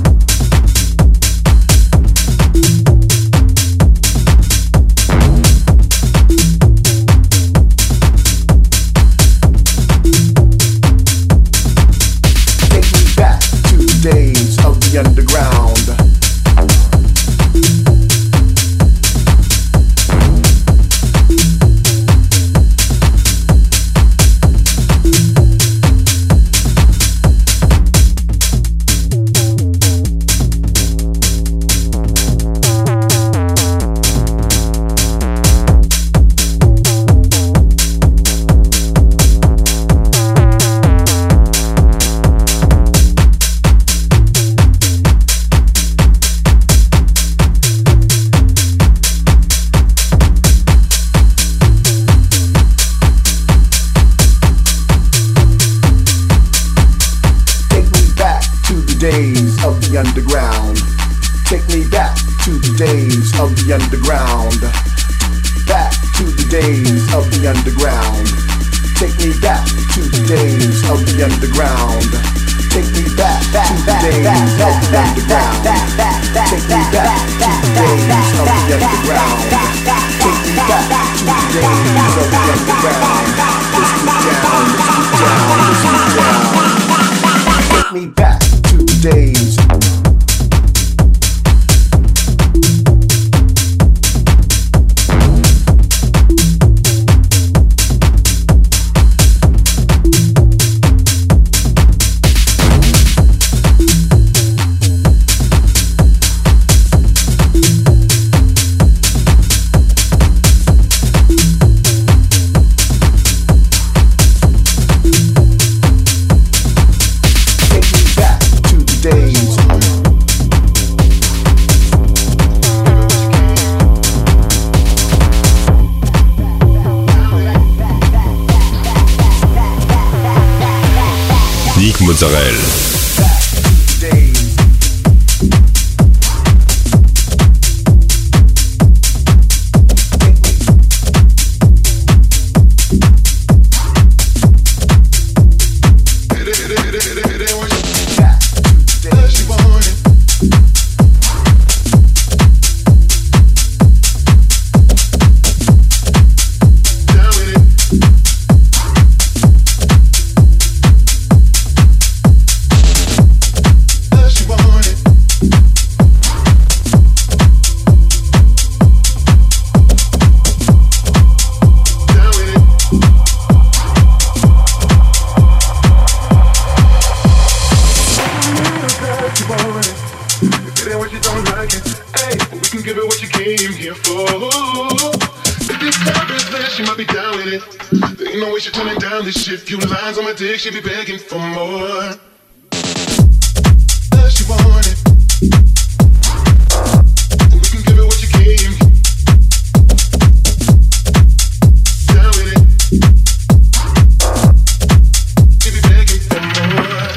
Take me back to the days of the underground. Days of the underground. Take me back to the days of the underground. Back to the days of the underground. Take me back to the days of the underground. Take me back to the days of the underground. Take me back to the days of the underground. Take me back to the days of the underground. Let's get down, let's get down, let's get down. Take me back to the days. Nick Mozzarella. If you lines on my dick, she be begging for more. She want it. We can give it what you came. Down with it. She be begging for more.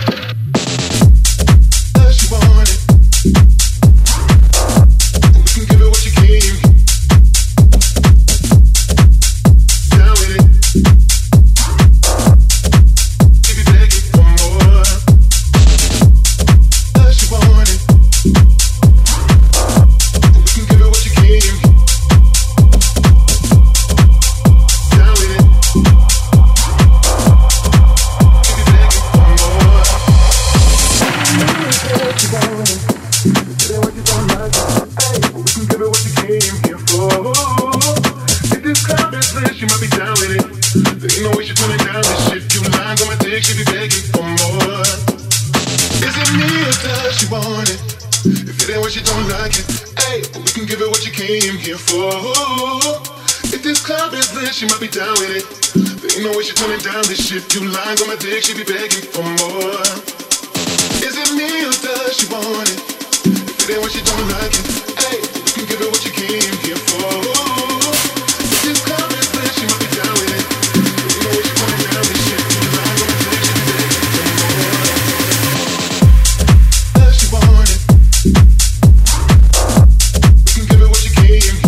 be begging for more. Is it me or does she want it? If it ain't what she don't like it, hey, we can give her what you came here for. If this club is lit, she might be down with it. There ain't no way she turning down this shit. Few lines on my dick, she be begging for more. Is it me or does she want it? If it ain't what she don't like it, hey, we can give her what you came here for. If this club is lit, she might be down with it. There ain't no way she turning down this shit. Few lines on my dick, she be begging for more. Does she want it? We can give her what you came here.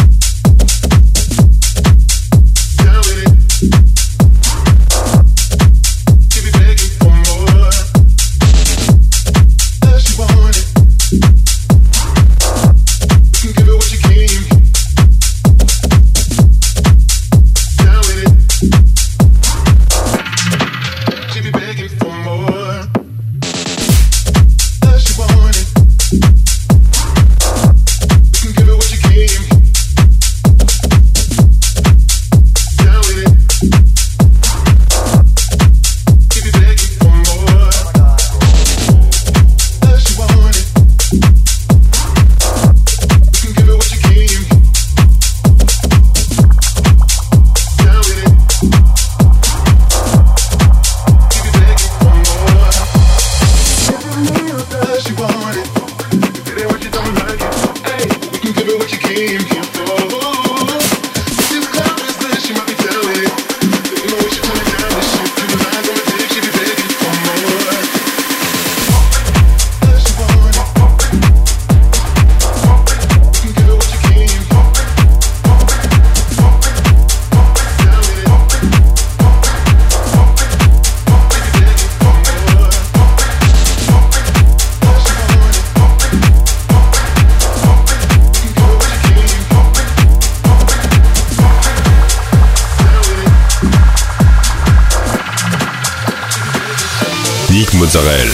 Mozzarella.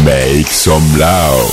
Make some loud.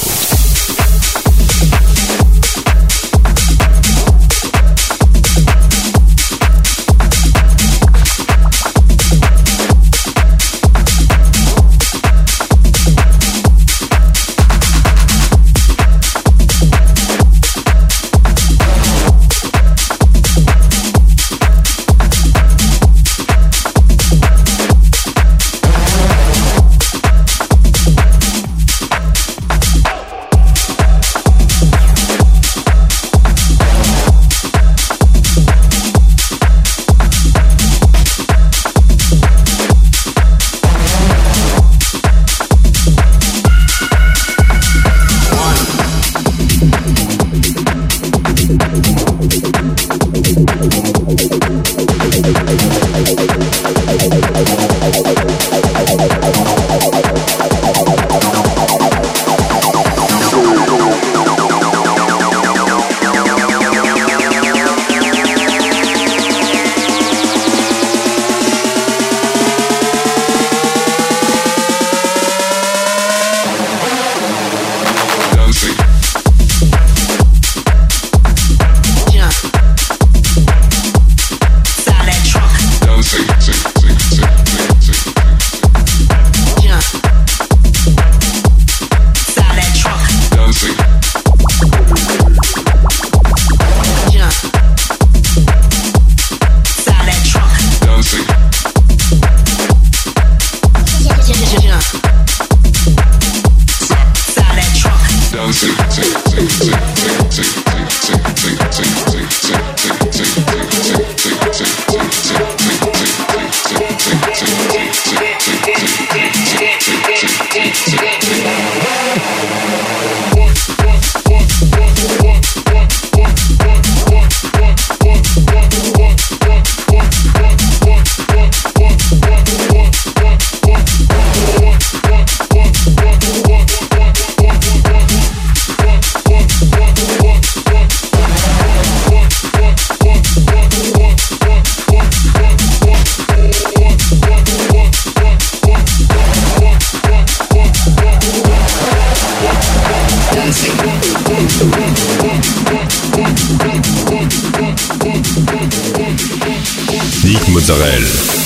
Nick Mozzarella.